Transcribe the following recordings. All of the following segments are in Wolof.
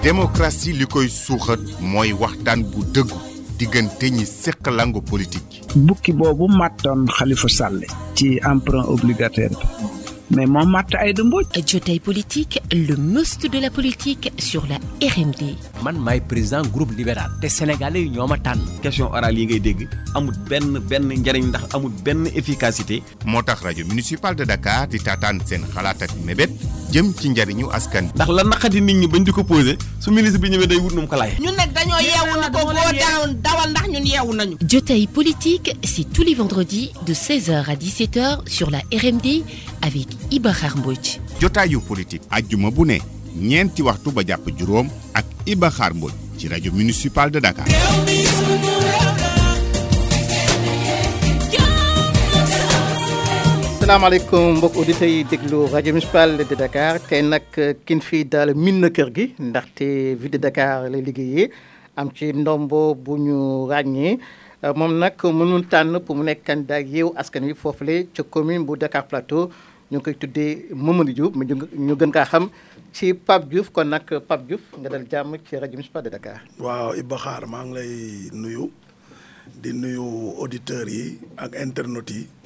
démocratie li koy suuxat mooy waxtaan bu dëggu diggante ñi seq langue politique. bukki boobu màttoon Khalifa Sall ci emprunt obligataire bi mais moo màtt Aïda Mbodj. Jotaay politique, le must de la politique sur la RMD. man maay président groupe libéral te sénégalais yi ñoo ma tànn. question orale yi ngay dégg amul benn njariñ ndax amul benn efficacité. moo tax rajo municipal de Dakar di taataan seen xalaat ak mébét jëm ci njariñu askan. ndax la naqadi nit ñi bañ di ko posé su ministre bi ñëwee day wut nu mu ko laaj. ñun nag dañoo yeewu ni ko boo dawal ndax ñun yeewu nañu. Jotaay politique, c'est tous les vendredis de 16h à 17h sur la RMD avec Iba Khar Mbodj. jotaayu politique ajjuma bu ne ñeenti waxtu ba jàpp juróom ak Iba Khar Mbodj ci rajo municipal de Dakar. salaamaaleykum mbokk auditeurs yi déglu rajo municipal de Dakar tey nag kin fii daal min na kër gi ndaxte ville de Dakar lay liggéeyee am ci ndombo bu ñu ràññee moom nag mënul tànn pour mu nekk candidat Yewwi Askan Wi foofule ca commune bu Dakar Plateau ñu ngi koy tuddee Mamadou Diouf mais ñu gën kaa xam ci Pape Diouf kon nag Pape Diouf nga dal jàmm ci rajo municipal de Dakar. waaw Iba Khar maa ngi lay nuyu di nuyu auditeurs yi ak internautes yi.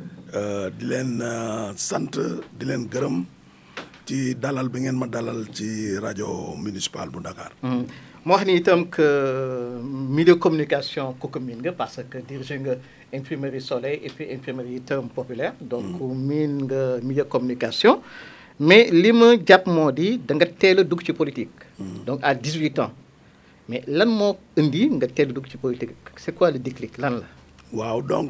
di leen sant di leen gërëm ci dalal bi ngeen ma dalal ci rajo municipal bu Dakar. moo wax ni itam que milieu communication kooku miin nga parce que dirigé nga imprimerie Soleil et puis imprimerie itam populaire. donc miin nga milieu communication. mais li ma jàpp moo di da nga teel a dugg ci politique. donc à 18 ans. mais lan moo indi nga teel a dugg ci politique c'est quoi le déclic lan la. waaw donc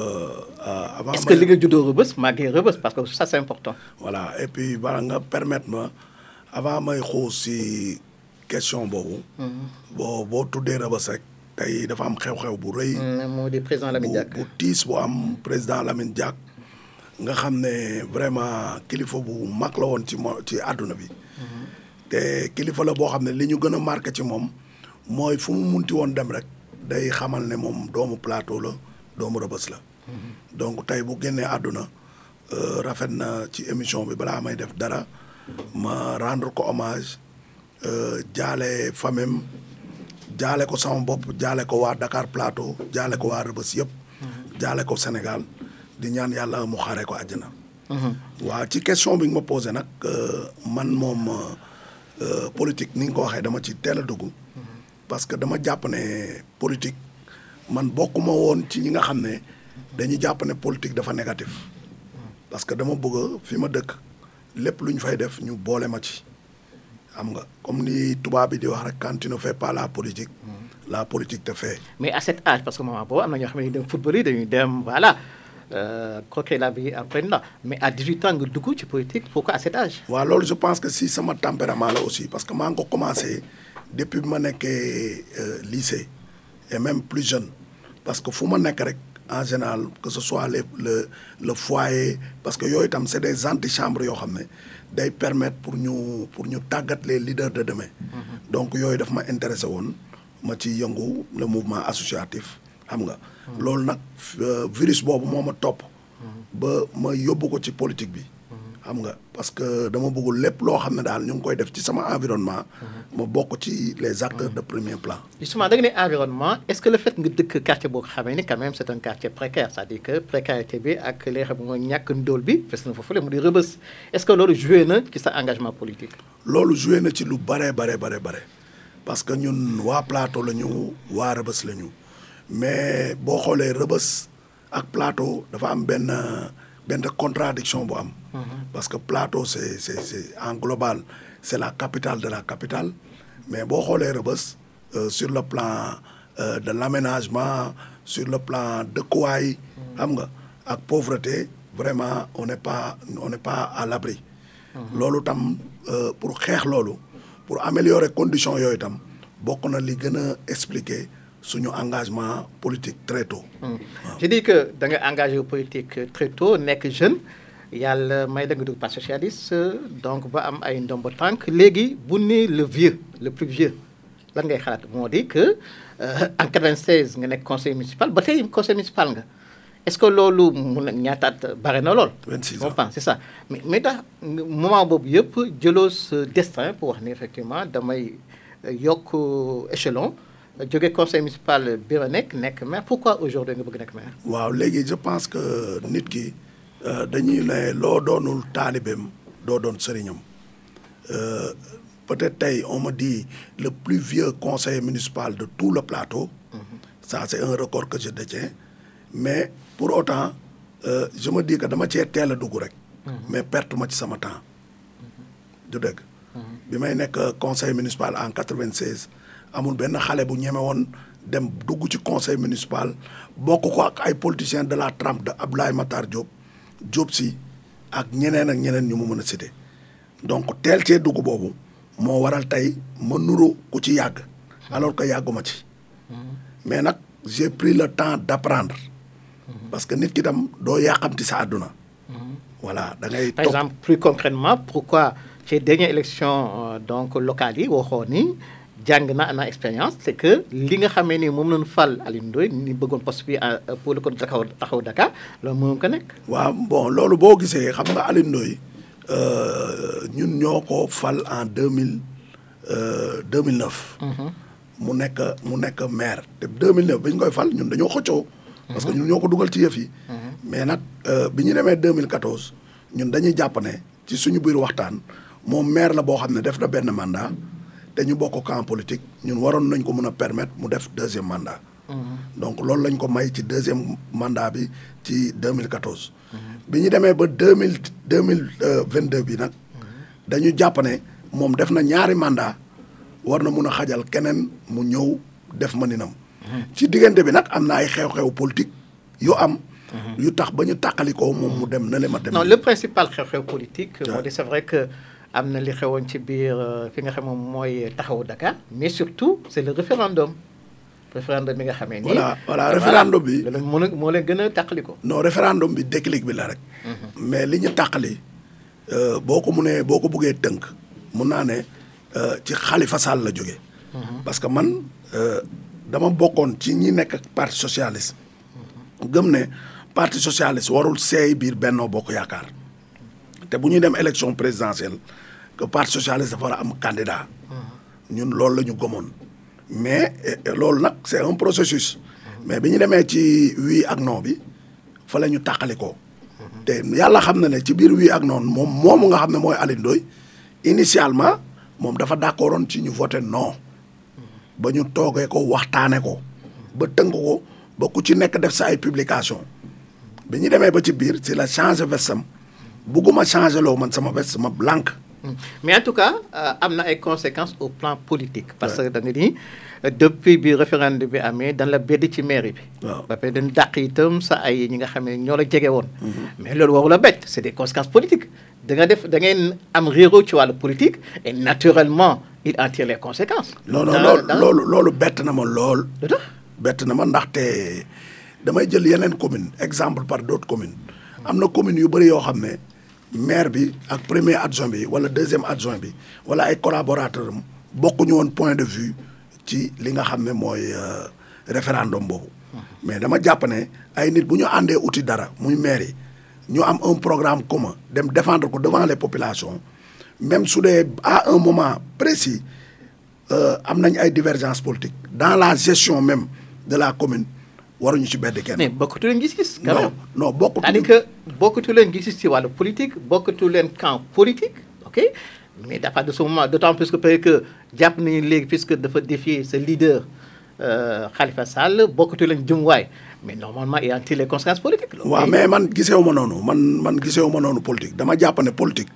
avant. est-ce que li nga juddoo Rebeuss màggee Rebeuss parce que ça c'est important. voilà et puis bala nga permettre ma avant may xuus si question boobu. boo tuddee Rebeuss rek tey dafa am xew-xew bu rëy. moo di président Lamine Diack bu tiis bu am président Lamine Diack nga xam ne vraiment kilifa bu mag la woon ci àdduna bi. te kilifa la boo xam ne li ñu gën a marqué ci moom mooy fu mu munti woon dem rek. day xamal ne moom doomu Plateau la doomu Rebeuss la. donc tey bu génnee àdduna rafet na ci émission bi balaa may def dara ma rendre ko hommage jaale famem jaale ko sama bopp jaale ko waa Dakar Plateau jaale ko waa Rebeuss yëpp. jaale ko Sénégal di ñaan yàlla mu xaaree ko àjjana. waa ci question bi nga ma posé nag man moom politique ni nga ko waxee dama ci teel a dugg. parce que dama jàpp ne politique man bokkuma woon ci ñi nga xam ne dañuy jàpp ne politique dafa négatif parce que dama bëgg fi ma dëkk lépp lu ñu fay def ñu boole ma ci xam nga comme ni tubaab bi di wax rek quand tu ne fais pas la politique te fait. mais à cet âge parce que moment boobu am na ñoo xam ne dañuy dem football yi dañuy dem voilà croquer la vie après là mais à 18 ans nga dugg ci politique pourquoi à cet âge. waaw loolu je pense que si sama tempérament la aussi parce que maa ngi ko commencé. depuis bi ma nekkee lycée et même plus jeune parce que fu ma nekk rek en général que ce soit le foyer parce que yooyu itam c'est des antichambres yoo xam ne day permettre pour ñu tàggat les leaders de demain. donc yooyu daf ma intéressé woon ma ci yëngu le mouvement associatif xam nga. loolu nag virus boobu moo ma topp. ba ma yóbbu ko ci politique bi. xam nga parce que dama bëggul lépp loo xam ne daal ñu ngi koy def ci sama environnement. ma bokk ci les acteurs de premier plan. justement da nga ne environnement est-ce que le fait nga dëkk quartier boo xamee ni quand même c'est un quartier précaire c'est-à-dire que précarité bi ak li nga xam mooy ñàkk ndóol bi fes na foofu la mu di Rebeuss est-ce que loolu joué na ci sa engagement politique. loolu joué na ci lu bare parce que ñun waa Plateau la ñu waa Rebeuss la ñu mais boo xoolee Rebeuss ak Plateau dafa am benn contradiction bu am. parce que Plateau c'est en global c'est la capitale de la capitale mais boo xoolee Rebeuss sur le plan de l'aménagement sur le plan dëkkuwaay xam nga ak pauvreté vraiment on n'est pas à l'abri. loolu tam pour xeex loolu pour améliorer conditions yooyu tam bokk na li gën a expliquer suñu engagement politique très tôt. je dis que da nga engagé politique très tôt nekk jeune yàlla may da nga dugg parti socialiste donc ba am ay ndombo tànk léegi bu ne le plus vieux lan ngay xalaat moo di que en 96 nga nekk conseil municipal ba tey conseil municipal nga est-ce que loolu mun na ñaataat bare na lool. 26 on ans pense c'est ça mais tax moment boobu yëpp jëloo ce destin pour wax ni effectivement damay yokk échelon jóge conseil municipal bi ma nekk maire pourquoi aujourd'hui nga bëgg nekk maire. waaw léegi je pense que nit ki dañuy ne loo doonul taalibeem doo doon sëriñam peut-être tey on me dit le plus vieux conseiller municipal de tout le plateau. Ça c'est un record que je détiens mais pour autant je me dis que dama cee teel a dugg rek. mais perte ma ci sama temps. du dëgg. bi may nekk conseil municipal en 96 amul benn xale bu ñeme woon dem dugg ci conseil municipal bokk ko ak ay politiciens de la trempe de Abdoulaye Matar Diop Sy ak ñeneen ñu mu mën a citer donc teel cee dugg boobu moo waral tey ma nuru ku ci yàgg alors que yàgguma ci mais nag j'ai pris le temps d'apprendre parce que nit ki tam doo yàqamti sa àdduna voilà da ngay par exemple plus concrètement pourquoi ces dernières élections donc locales yi waxoo ni jàng na expérience c'est que li nga xamee ni moom lañu fal Alioune Ndoye ni bëggoon poste bi pour le côté taxaw Dakar loolu mënoon ko nekk. waaw bon loolu boo gisee xam nga Alioune Ndoye ñun ñoo ko fal en 2009. mu nekk maire te 2009 bi ñu koy fal ñun dañoo xëccoo. parce que ñun ñoo ko dugal ci yëf yi. mais nag bi ñu demee 2014 ñun dañuy jàpp ne ci suñu biir waxtaan moom maire la boo xam ne def na benn mandat. te ñu bokk camp politique ñun waroon nañ ko mën a permettre mu def deuxième mandat. donc loolu lañ ko may ci deuxième mandat bi ci 2014. bi ñu demee ba 2022 bi nag. dañu jàpp ne moom def na ñaari mandat war na mun a xajal keneen mu ñëw def maninam. ci diggante bi nag am na ay xew-xew politique yu am. yu tax ba ñu tàqalikoo moom mu dem na le ma dem. non le principal xew-xew politique. moo di c'est vrai que. am na li xewoon ci biir fi nga xam moom mooy taxawu Dakar mais surtout c'est le référendum bi nga xamee ni. voilà référendum bi. moo leen gën a tàqali ko. non référendum bi déclic bi la rek. mais li ñu tàqali boo ko buggee tënk mun naa ne ci Khalifa Sall la jógee. parce que man dama bokkoon ci ñi nekk parti socialiste. gëm ne parti socialiste warul seey biir Benno Bokk Yaakaar te bu ñuy dem élection présidentielle. que parti socialiste dafa war a am candidat. ñun loolu la ñu gëmoon. mais loolu nag c'est un processus. mais bi ñu demee ci oui ak non bi fa la ñu tàqali ko. te yàlla xam na ne ci biir oui ak non moomu nga xam ne mooy Alioune Ndoye initialement moom dafa d'accordoon ci ñu voté non. ba ñu toogee ko waxtaane ko. ba tënk ko ba ku ci nekk def sa ay publication bi ñu demee ba ci biir ci la changer vestam bugguma changer loo man sama veste ma blanc. mais en tout cas am na ay conséquences au plan politique. parce que da nga ni depuis bi référendum bi amee dañ la bedd ci mairie bi. waaw ba pare dañ dàq itam sa ay ñi nga xam ne ñoo la jege woon. mais loolu waru la bett c'est des conséquences politiques da ngeen am réeróo ci wàllu politique et naturellement il en tire les conséquences. non loolu bett na ma lool. bett na ma ndaxte damay jël yeneen commune exemple par d'autres communes. am na communes yu bëri yoo xam ne. maire bi ak premier adjoint bi wala deuxième adjoint bi wala ay collaborateurs am bokkuñu woon point de vue ci li nga xam ne mooy référendum boobu. mais dama jàpp ne ay nit bu ñu àndee uti dara muy maire yi ñu am un programme commun dem défendre ko devant les populations même su dee à un moment précis am nañ ay divergences politiques dans la gestion même de la commune. waruñu ci bedd kenn. mais bokkatu leen gis-gis. non bokkatu. c'est-à-dire que bokkatu leen gis-gis ci wàllu politique bokkatu leen camp politique ok mais dafa de ce moment d'autant plus que peut-être que jàpp nañu léegi puisque dafa défier ce leader Khalifa Sall bokkatu leen jëmuwaay mais normalement il y a les conséquences politiques. waaw mais man gisewu ma noonu man gisewu ma noonu politique dama jàpp ne politique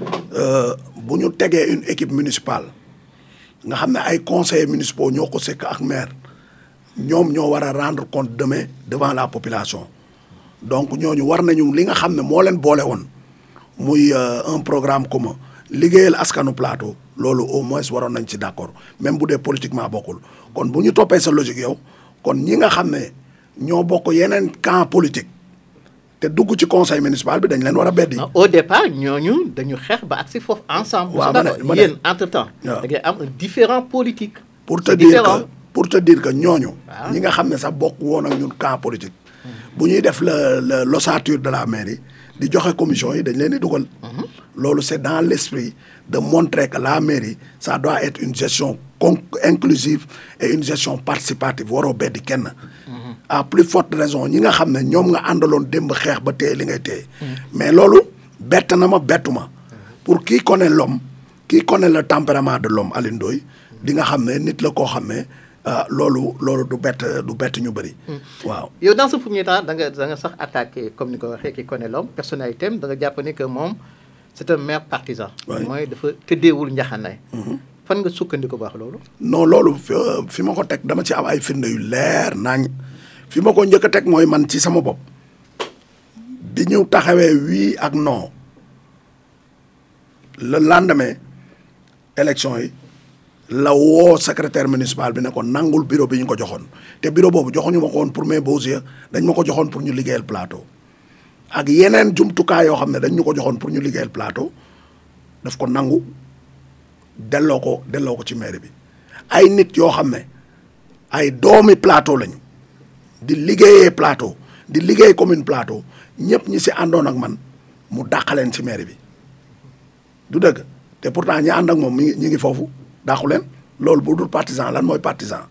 bu ñu tegee une équipe municipale nga xam ne ay conseillers municipaux ñoo ko sekk ak maire. ñoom ñoo war a rendre compte demain devant la population donc ñooñu war nañu li nga xam ne moo leen boole woon muy un programme commun liggéeyal askanu plateau loolu au moins waroon nañ ci d'accord même bu dee politiquement bokkul kon bu ñu toppee sa logique yow kon ñi nga xam ne ñoo bokk yeneen camp politique te dugg ci conseil municipal bi dañ leen war a beddi. au départ ñooñu dañu xeex ba agsi foofu ensemble. waaw ma ne yéen entre temps. da ngay am un différent politique. pour te dire que ñooñu. ñi nga xam ne sax bokk woon ak ñun camp politique. bu ñuy def l'ossature de la mairie di joxe commission yi dañ leen di dugal. loolu c'est dans l'esprit de montrer que la mairie ça doit être une gestion inclusive et une gestion participative waroo beddi kenn. à plus forte raison ñi nga xam ne ñoom nga àndaloon démb xeex ba téye li ngay téye. mais loolu bett na ma bettu ma pour qui connaît l'homme qui connaît le tempérament de l'homme Alioune Ndoye di nga xam ne nit la koo xam ne loolu du bett ñu bëri. waaw yow dans ce premier temps da nga sax attaqué comme ni ko waxee qui connaît l'homme personnalité am da nga jàpp ni que moom c'est un maire partisan. mooy dafa tëddeewul njaxanaay. fan nga sukkandiku baax loolu. non loolu fi ma ko teg dama ci am ay firnde yu leer nañ fi ma ko njëkk a teg mooy man ci sama bopp bi ñu taxawee oui ak non le lendemain élection yi la woo secrétaire municipal bi ne ko nangul bureau bi ñu ko joxoon te bureau boobu joxuñu ma ko woon pour mes beaux yeux dañ ma ko joxoon pour ñu liggéeyal plateau ak yeneen jumtukaay yoo xam ne dañ ñu ko joxoon pour ñu liggéeyal plateau daf ko nangu delloo ko ci mairie bi ay nit yoo xam ne ay doomi plateau lañu di liggéeyee plateau di liggéey commune plateau ñëpp ñi si àndoon ak man mu dàqaleen ci mairie bi du dëgg te pourtant ñi ànd ak moom ñi ngi foofu dàqu leen loolu bu dul partisan lan mooy partisan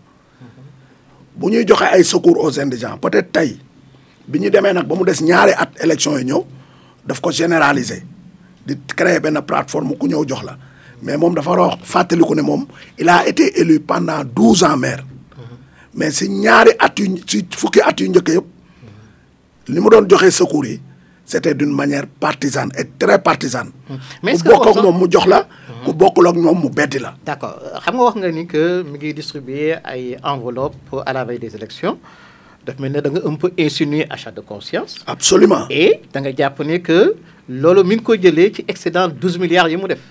bu ñuy joxe ay secours aux indigents peut-être tey bi ñu demee nag ba mu des ñaari at élection yi ñëw daf ko généraliser di créer benn plateforme ku ñëw jox la mais moom dafa wax fàttaliku ne moom il a été élu pendant 12 ans maire mais si ñaari at yu si fukki at yu njëkk yëpp li mu doon joxe secours yi c'était d'une manière partisane et très partisane. mais ku bokk ak moom mu jox la. ku bokkul ak moom mu beddi la. d'accord xam nga wax nga ni que mi ngi distribuer ay enveloppes à la veille des élections daf mel ne da nga un peu insinuer achat de conscience. absolument et da nga jàpp ne que loolu mi ngi ko jëlee ci excédent 12 milliards yi mu def.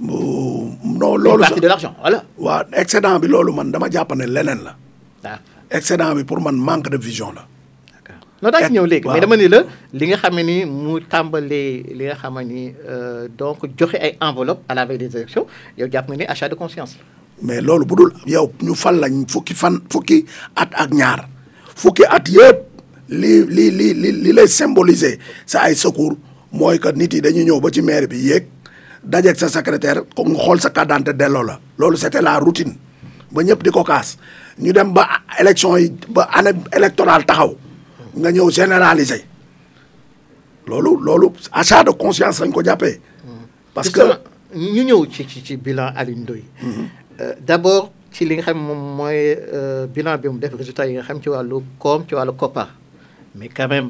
non loolu une partie de l'argent voilà. waaw excédent bi loolu man dama jàpp ne leneen la. excédent bi pour man manque de vision la. non daa ci ñëw léegi mais dama ni la li nga xam ne ni mu tàmbalee li nga xam ne ni donc joxe ay enveloppe à la veille des élections yow jàpp nga ni achat de conscience. mais loolu bu dul yow ñu fal lañ fukki at ak ñaar fukki at yëpp li lay symboliser sa ay secours mooy que nit yi dañuy ñëw ba ci maire bi yéeg dajeeg sa secrétaire ko nga xool sa carte d'identité delloo la loolu c'était la routine ba ñëpp di ko kaas ñu dem ba élection yi ba année électorale taxaw nga ñëw généraliser loolu achat de conscience lañ ko jàppee. parce que ñu ñëw ci bilan Alioune Ndoye. d'abord ci li nga xam moom mooy bilan bi mu def résultat yi nga xam ci wàllu koom ci wàllu koppar mais quand même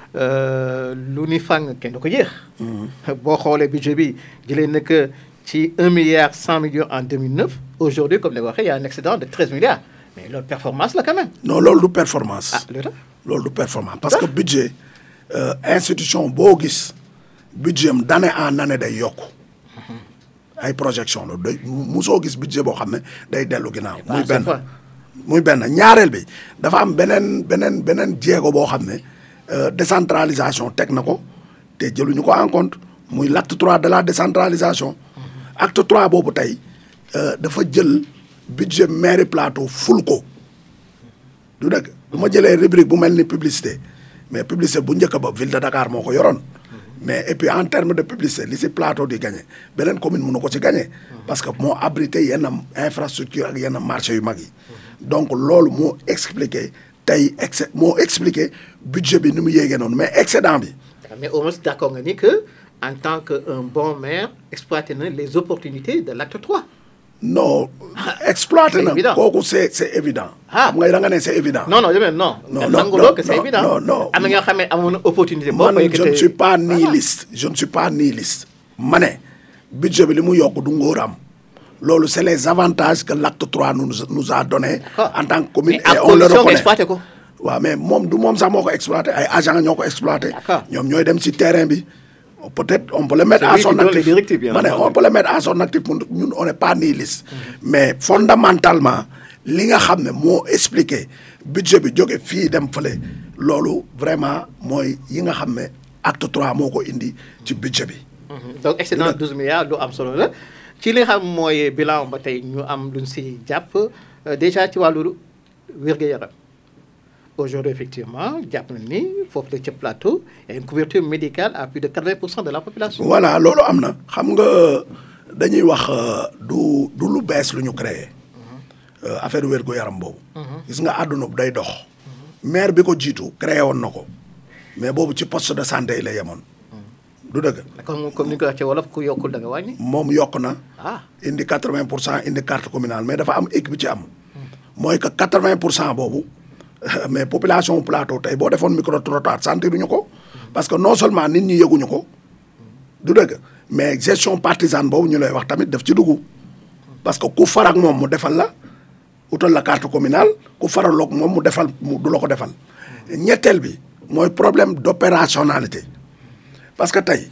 lu ni fàng kenn du ko jeex. boo xoolee budget bi jëlee na que ci 1 milliard 100 millions en 2009 aujourd'hui comme ni nga waxee y a un excédent de 13 milliards mais loolu performance la quand même. non loolu du performance. ah loolu loolu du performance parce que budget institution boo gis budget am d'année en année day yokku ay projection la day musoo gis budget boo xam ne day dellu ginnaaw. muy benn ñaareel bi dafa am beneen jéego boo xam ne décentralisation teg na ko te jëluñu ko en compte muy l'acte 3 de la décentralisation. acte 3 boobu tey dafa jël budget mairie plateau ful ko du dëgg. bu ma jëlee rubrique bu mel ni publicité mais publicité bu njëkk ba ville de Dakar moo ko yoroon mais et puis en terme de publicité li si plateau di gagné beneen commune mënu ko ci gagné parce que moo abrité yenn infrastructure ak yenn marché yu mag yi donc loolu moo expliqué budget bi ni mu yéegee noonu mais excédent bi. mais au moins d'accord nga ni que en tant que un bon maire exploité na les opportunités de l'acte 3. non exploité na kooku c'est évident. ah ngay da nga ne c'est évident. non nanguloo que c'est évident. non am na ñoo xam ne amoon na opportunité. man je ne suis pas nihiliste. ma ne budget bi li mu yokk du ngóoram loolu c'est les avantages que l'acte 3 nous a donné. en tant que commune et on le reconnaît exploité ko. waaw mais moom sax moo ko exploité ay agents ñoo ko exploité. ñoom ñooy dem ci terrain bi. peut-être on peut le mettre à son actif on peut le mettre à son actif ñun on n'est pas nihiliste mais fondamentalement li nga xam ne moo expliqué budget bi jóge fii dem fële loolu vraiment mooy yi nga xam ne acte 3 moo ko indi ci budget bi. donc excédent 12 milliards lu am solo la ci li nga xam mooy bilan ba tey ñu am luñ si jàpp déjà ci wàllu wér-gu-yaram aujourd'hui effectivement jàpp na ni foofu la ca plateau il y a une couverture médicale à plus de 80% de la population. voilà loolu am na xam nga dañuy wax du lu bees lu ñu créé affaire wér-gu-yaram boobu. gis nga àdduna bu day dox. maire bi ko jiitu créé woon na ko mais boobu ci poste de santé yi la yemoon. du dëgg. comme ni ñu ko waxee wolof ku yokkul da nga wàññi. moom yokk na. indi 80% indi carte communale mais dafa am équipe bi ci am. mooy que 80% boobu mais population plateau tey boo defoon micro trottoir sentiruñu ko. parce que non seulement nit ñi yëguñu ko. du dëgg mais gestion partisane boobu ñu lay wax tamit daf ci dugg. parce que ku farak moom mu defal la utal la carte communale ku faraloog moom mu defal mu du la ko defal. ñetteel bi mooy problème d'opérationnalité. parce que tey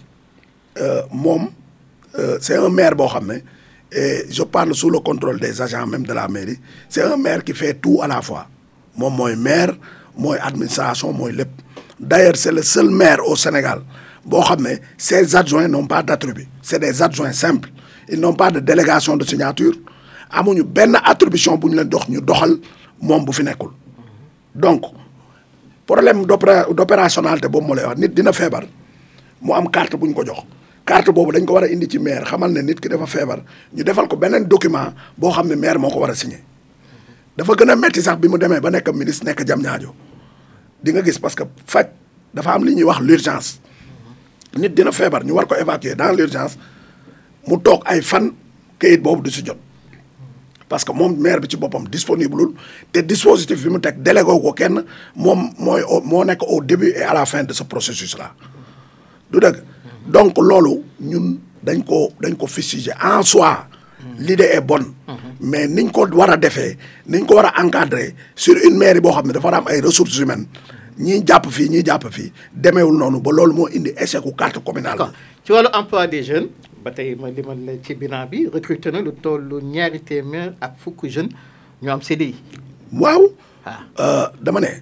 moom c'est un maire boo xam ne et je parle sous le contrôle des agents même de la mairie c'est un maire qui fait tout à la fois moom mooy maire mooy administration mooy lépp d'ailleurs c'est le seul maire au Sénégal boo xam ne ses adjoints n'ont pas d'attribut c'est des adjoints simples ils n'ont pas de délégation de signature amuñu benn attribution bu ñu leen dox ñu doxal moom bu fi nekkul donc problème d'opérationnalité boobu moo lay wax nit dina feebar mu am carte bu ñu ko jox carte boobu dañ ko war a indi ci maire xamal ne nit ki dafa feebar ñu defal ko beneen document boo xam ne maire moo ko war a signer dafa gën a metti sax bi mu demee ba nekk ministre nekk Diamniadio di nga gis parce que faj dafa am li ñuy wax l'urgence nit dina feebar ñu war ko évacuer dans l'urgence mu toog ay fan kayit boobu du si jot parce que moom maire bi ci boppam disponible te dispositif bi mu teg délégué ko kenn moom moo nekk au début et à la fin de ce processus là du dëgg donc loolu ñun dañ ko fustiger en soi l'idée est bonne mais niñ ko war a defee niñ ko war a encadrer sur une mairie boo xam ne dafa war a am ay ressources humaines ñii jàpp fii ñii jàpp fii demeewul noonu ba loolu moo indi échec u carte communale bi. ci wàllu emploi des jeunes ba tey ma limal la ci bilan bi recruté na lu toll 200 ak fukk jeunes ñu am CDI. waaw. dama ne.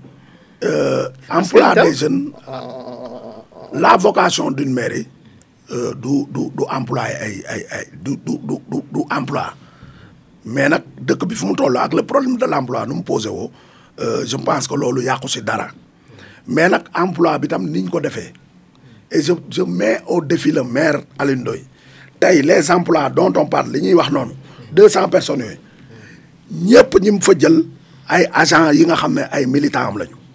emploi des jeunes. la vocation d'une mairie du employé du emploi mais nag dëkk bi fu mu toll ak le problème de l'emploi nu mu posé woo je pense que loolu yàqu si dara mais nag emploi bi tam niñ ko defee et je mets au défi le maire Alioune Ndoye tey les emplois dont on parle li ñuy wax noonu 200 personnes yooyu ñëpp ñi mu fa jël ay agents yi nga xam ne ay militants am lañu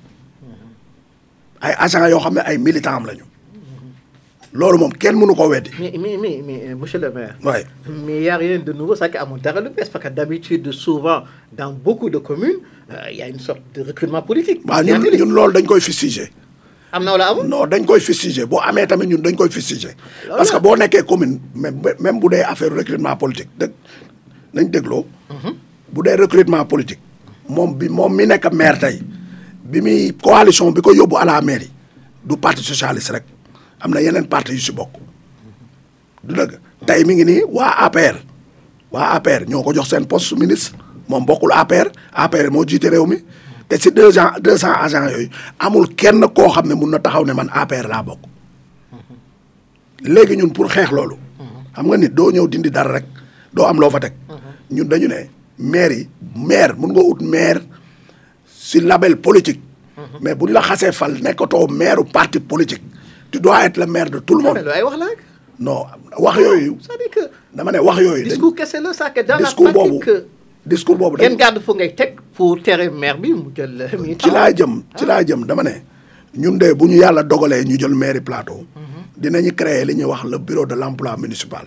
ay agents yoo xam ne ay militants am lañu loolu moom kenn mënu ko weddi. mais monsieur le maire. oui mais y a rien de nouveau ça qui amul dara lu bees parce que d'habitude souvent dans beaucoup de communes y a une sorte de recrutement politique. waaw ñun loolu dañ koy fustiger. am na wala amul. non dañ koy fustiger boo amee tamit ñun dañ koy fustiger. parce que boo nekkee commune même bu dee affaire recrutement politique dëgg nañ dégloo. bu dee recrutement politique. moom mi nekk maire tey bi muy coalition bi ko yóbbu à la mairie du parti socialiste rek. am na yeneen parti yu si bokk du dëgg tey mi ngi nii waa APR ñoo ko jox seen poste ministre moom bokkul APR moo jiite réew mi te si 200 agents yooyu amul kenn koo xam ne mun na taxaw ne man APR laa bokk léegi ñun pour xeex loolu xam nga nit doo ñëw dindi dara rek doo am loo fa teg ñun dañu ne maire mun nga ut maire si label politique mais buñ la xasee fal nekkatoo maire parti politique tu dois être le maire de tout le monde. ay wax la non wax yooyu. c'est-à-dire que dama ne wax yooyu. discours kese la ça que dans la pratique discours boobu ngeen garde fu ngay teg pour tere maire bi mu jël. ci laa jëm dama ne ñun de bu ñu yàlla dogalee ñu jël mairie Plateau. dinañu créer li ñuy wax le bureau de l'emploi municipal.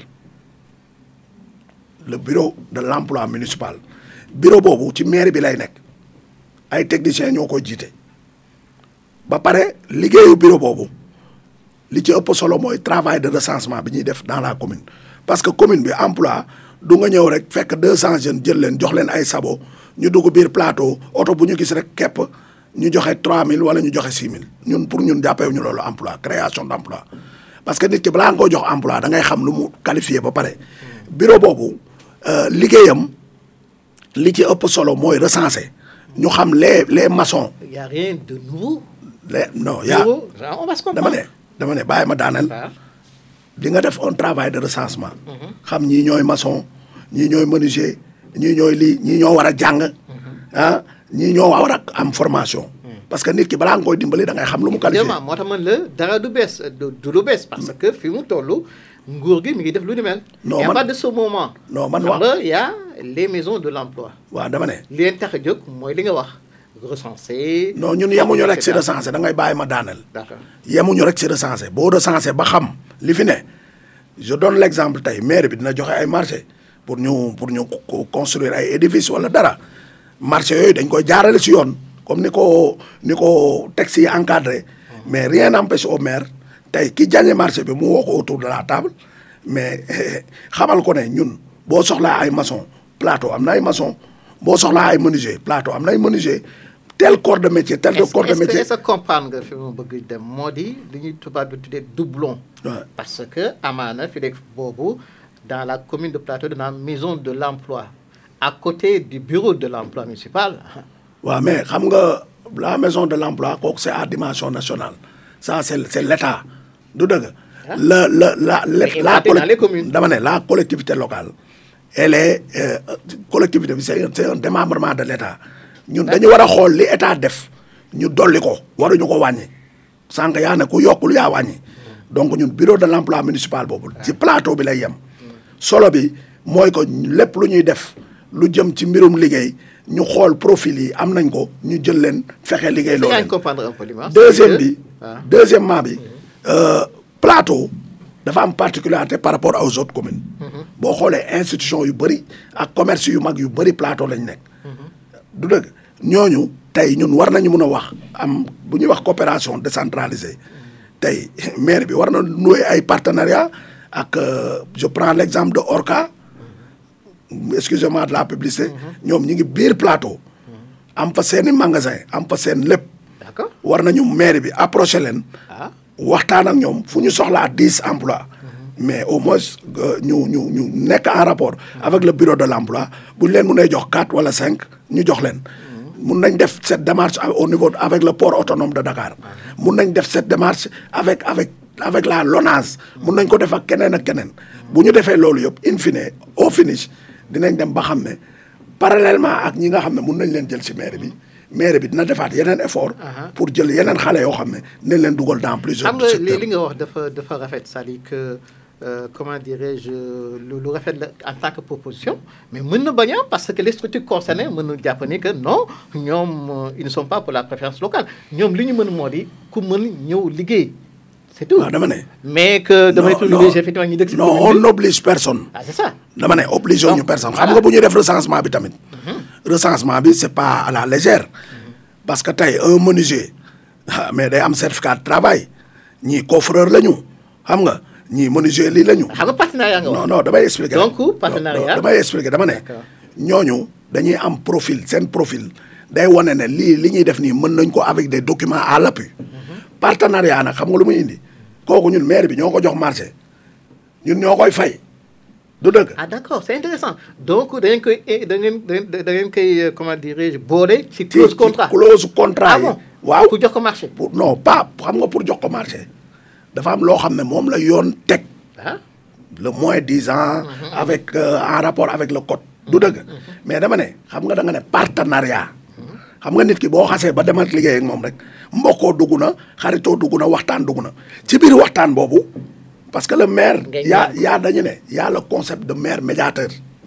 le bureau de l'emploi municipal bureau boobu ci mairie bi lay nekk ay techniciens ñoo koy jiite ba pare liggéeyu bureau boobu. li ci ëpp solo mooy travail de recensement bi ñuy def dans la commune parce que commune bi emploi du nga ñëw rek fekk 200 jeunes jël leen jox leen ay sabo ñu dugg biir Plateau oto bu ñu gis rek képp ñu joxe 3000 wala ñu joxe 6000 ñun pour ñun jàppee ñu loolu emploi création d'emploi parce que nit ki balaa nga koo jox emploi da ngay xam lu mu qualifié ba pare bureau boobu liggéeyam li ci ëpp solo mooy recenser ñu xam les maçons. y a rien de nouveau. non on va se comprendre. dama ne bàyyi ma daaneel di nga def un travail de recensement xam ñii ñooy maçon ñii ñooy menuisier ñii ñooy lii ñii ñoo war a jàng ñii ñoo war a am formation parce que nit ki balaa nga koy dimbali da ngay xam lu mu qualifié. évidemment moo tax man la dara du bees du lu bees parce que fi mu toll nguur gi mi ngi def lu ni mel. non et à man partir de ce moment. non man xam wax nga y a les maisons de l'emploi. waaw dama ne. li leen tax a jóg mooy li nga wax recenser. non ñun yemuñu rek si recenser da ngay bàyyi ma daaneel. d'accord yemuñu rek si recenser boo recenser ba xam li fi ne je donne l'exemple tey maire bi dina joxe ay marché pour ñu construire ay édifices wala dara marché yooyu dañ koy jaarale si yoon comme ni ko texte yi encadré mais rien n'empêche au maire tey ki gagné marché bi mu woo ko autour de la table mais xamal ko ne ñun boo soxlaa ay maçon plateau am na ay maçon boo soxlaa ay menuisier plateau am na ay menuisier tel corps de métier tel corps de métier. est-ce que comprendre nga fi mu bëgg dem moo di li ñuy tubaab bi tuddee doublon. parce que amaana fi nekk boobu dans la commune de Plateau dans la maison de l'emploi à côté du bureau de l'emploi municipal. waaw mais xam nga la maison de l'emploi kooku c'est à dimension nationale ça c'est l'État du dëgg. la dama ne la collectivité locale elle est collectivité bi c'est un démembrement de l'État. ñun dañu war a xool li état def ñu dolli ko waruñu ko wàññi sànq yaa ne ku yokkul yaa wàññi donc ñun bureau de l'emploi municipal boobu ci plateau bi lay yem solo bi mooy ko lépp lu ñuy def lu jëm ci mbirum liggéey ñu xool profil yi am nañ ko ñu jël leen fexe liggéey loolu deuxièmement bi plateau dafa am particularité par rapport aux autres communes boo xoolee institution yu bëri ak commerce yu mag yu bëri plateau lañ nekk du dëgg ñooñu tey ñun war nañu mën a wax am bu ñuy wax coopération décentralisée tey maire bi war na nouer ay partenariat ak je prends l'exemple de Orca excusez-moi de la publicité ñoom ñi ngi biir plateau am fa seeni magasin am fa seen lépp war nañu maire bi approcher leen waxtaan ak ñoom fu ñu soxlaa 10 emplois mais au moins ñu nekk en rapport avec le bureau de l'emploi bu ñu leen mënee jox 4 wala 5 ñu jox leen mun nañ def cette démarche au niveau avec le port autonome de Dakar mun nañ def cette démarche avec la LONASE mun nañ ko def ak keneen ak keneen bu ñu defee loolu yëpp in fine au finish dinañ dem ba xam ne parallèlement ak ñi nga xam ne mun nañ leen jël ci maire bi dina defaat yeneen effort pour jël yeneen xale yoo xam ne nañ leen dugal dans plusieurs secteurs. xam nga li nga wax dafa rafet c'est-à-dire que comment dirais-je lu rafet la en tant que proposition mais mën na bañ a parce que les structures concernées mën na jàpp ni que non ñoom ils ne sont pas pour la préférence locale ñoom li ñu mën moo di ku mën ñëw liggéey c'est tout. waaw dama ne. mais que damay obligé effectivement ñu dëkk si non on n'oblige personne. ah c'est ça. dama ne obligé ñu personne xam nga bu ñuy def recensement bi tamit. recensement bi c'est pas à la légère. parce que tey un menuisier mais day am certificat de travail ñii coffreur la ñu xam nga. ñii menuisier lii la ñu. xam nga partenariat nga wax. non damay expliquer. donc partenariat damay expliquer dama ne. ñooñu dañuy am profil seen profil day wane ne li ñuy def nii mën nañ ko avec des documents à l'appui. partenariat nag xam nga lu muy indi kooku ñun maire bi ñoo ko jox marché ñun ñoo koy fay du dëgg. ah d'accord c'est intéressant donc da ngeen koy comment dirais-je boole. ci clause contrat clause contrat yi. waaw pour jox ko marché. non pas xam nga pour jox ko marché. dafa am loo xam ne moom la yoon teg le moins 10 ans avec en rapport avec le code du dëgg mais dama ne xam nga da nga ne partenariat xam nga nit ki boo xasee ba demal liggéey ak moom rek mbokkoo dugg na xaritoo dugg na waxtaan dugg na ci biir waxtaan boobu parce que le maire yaa dañu ne y a le concept de maire médiateur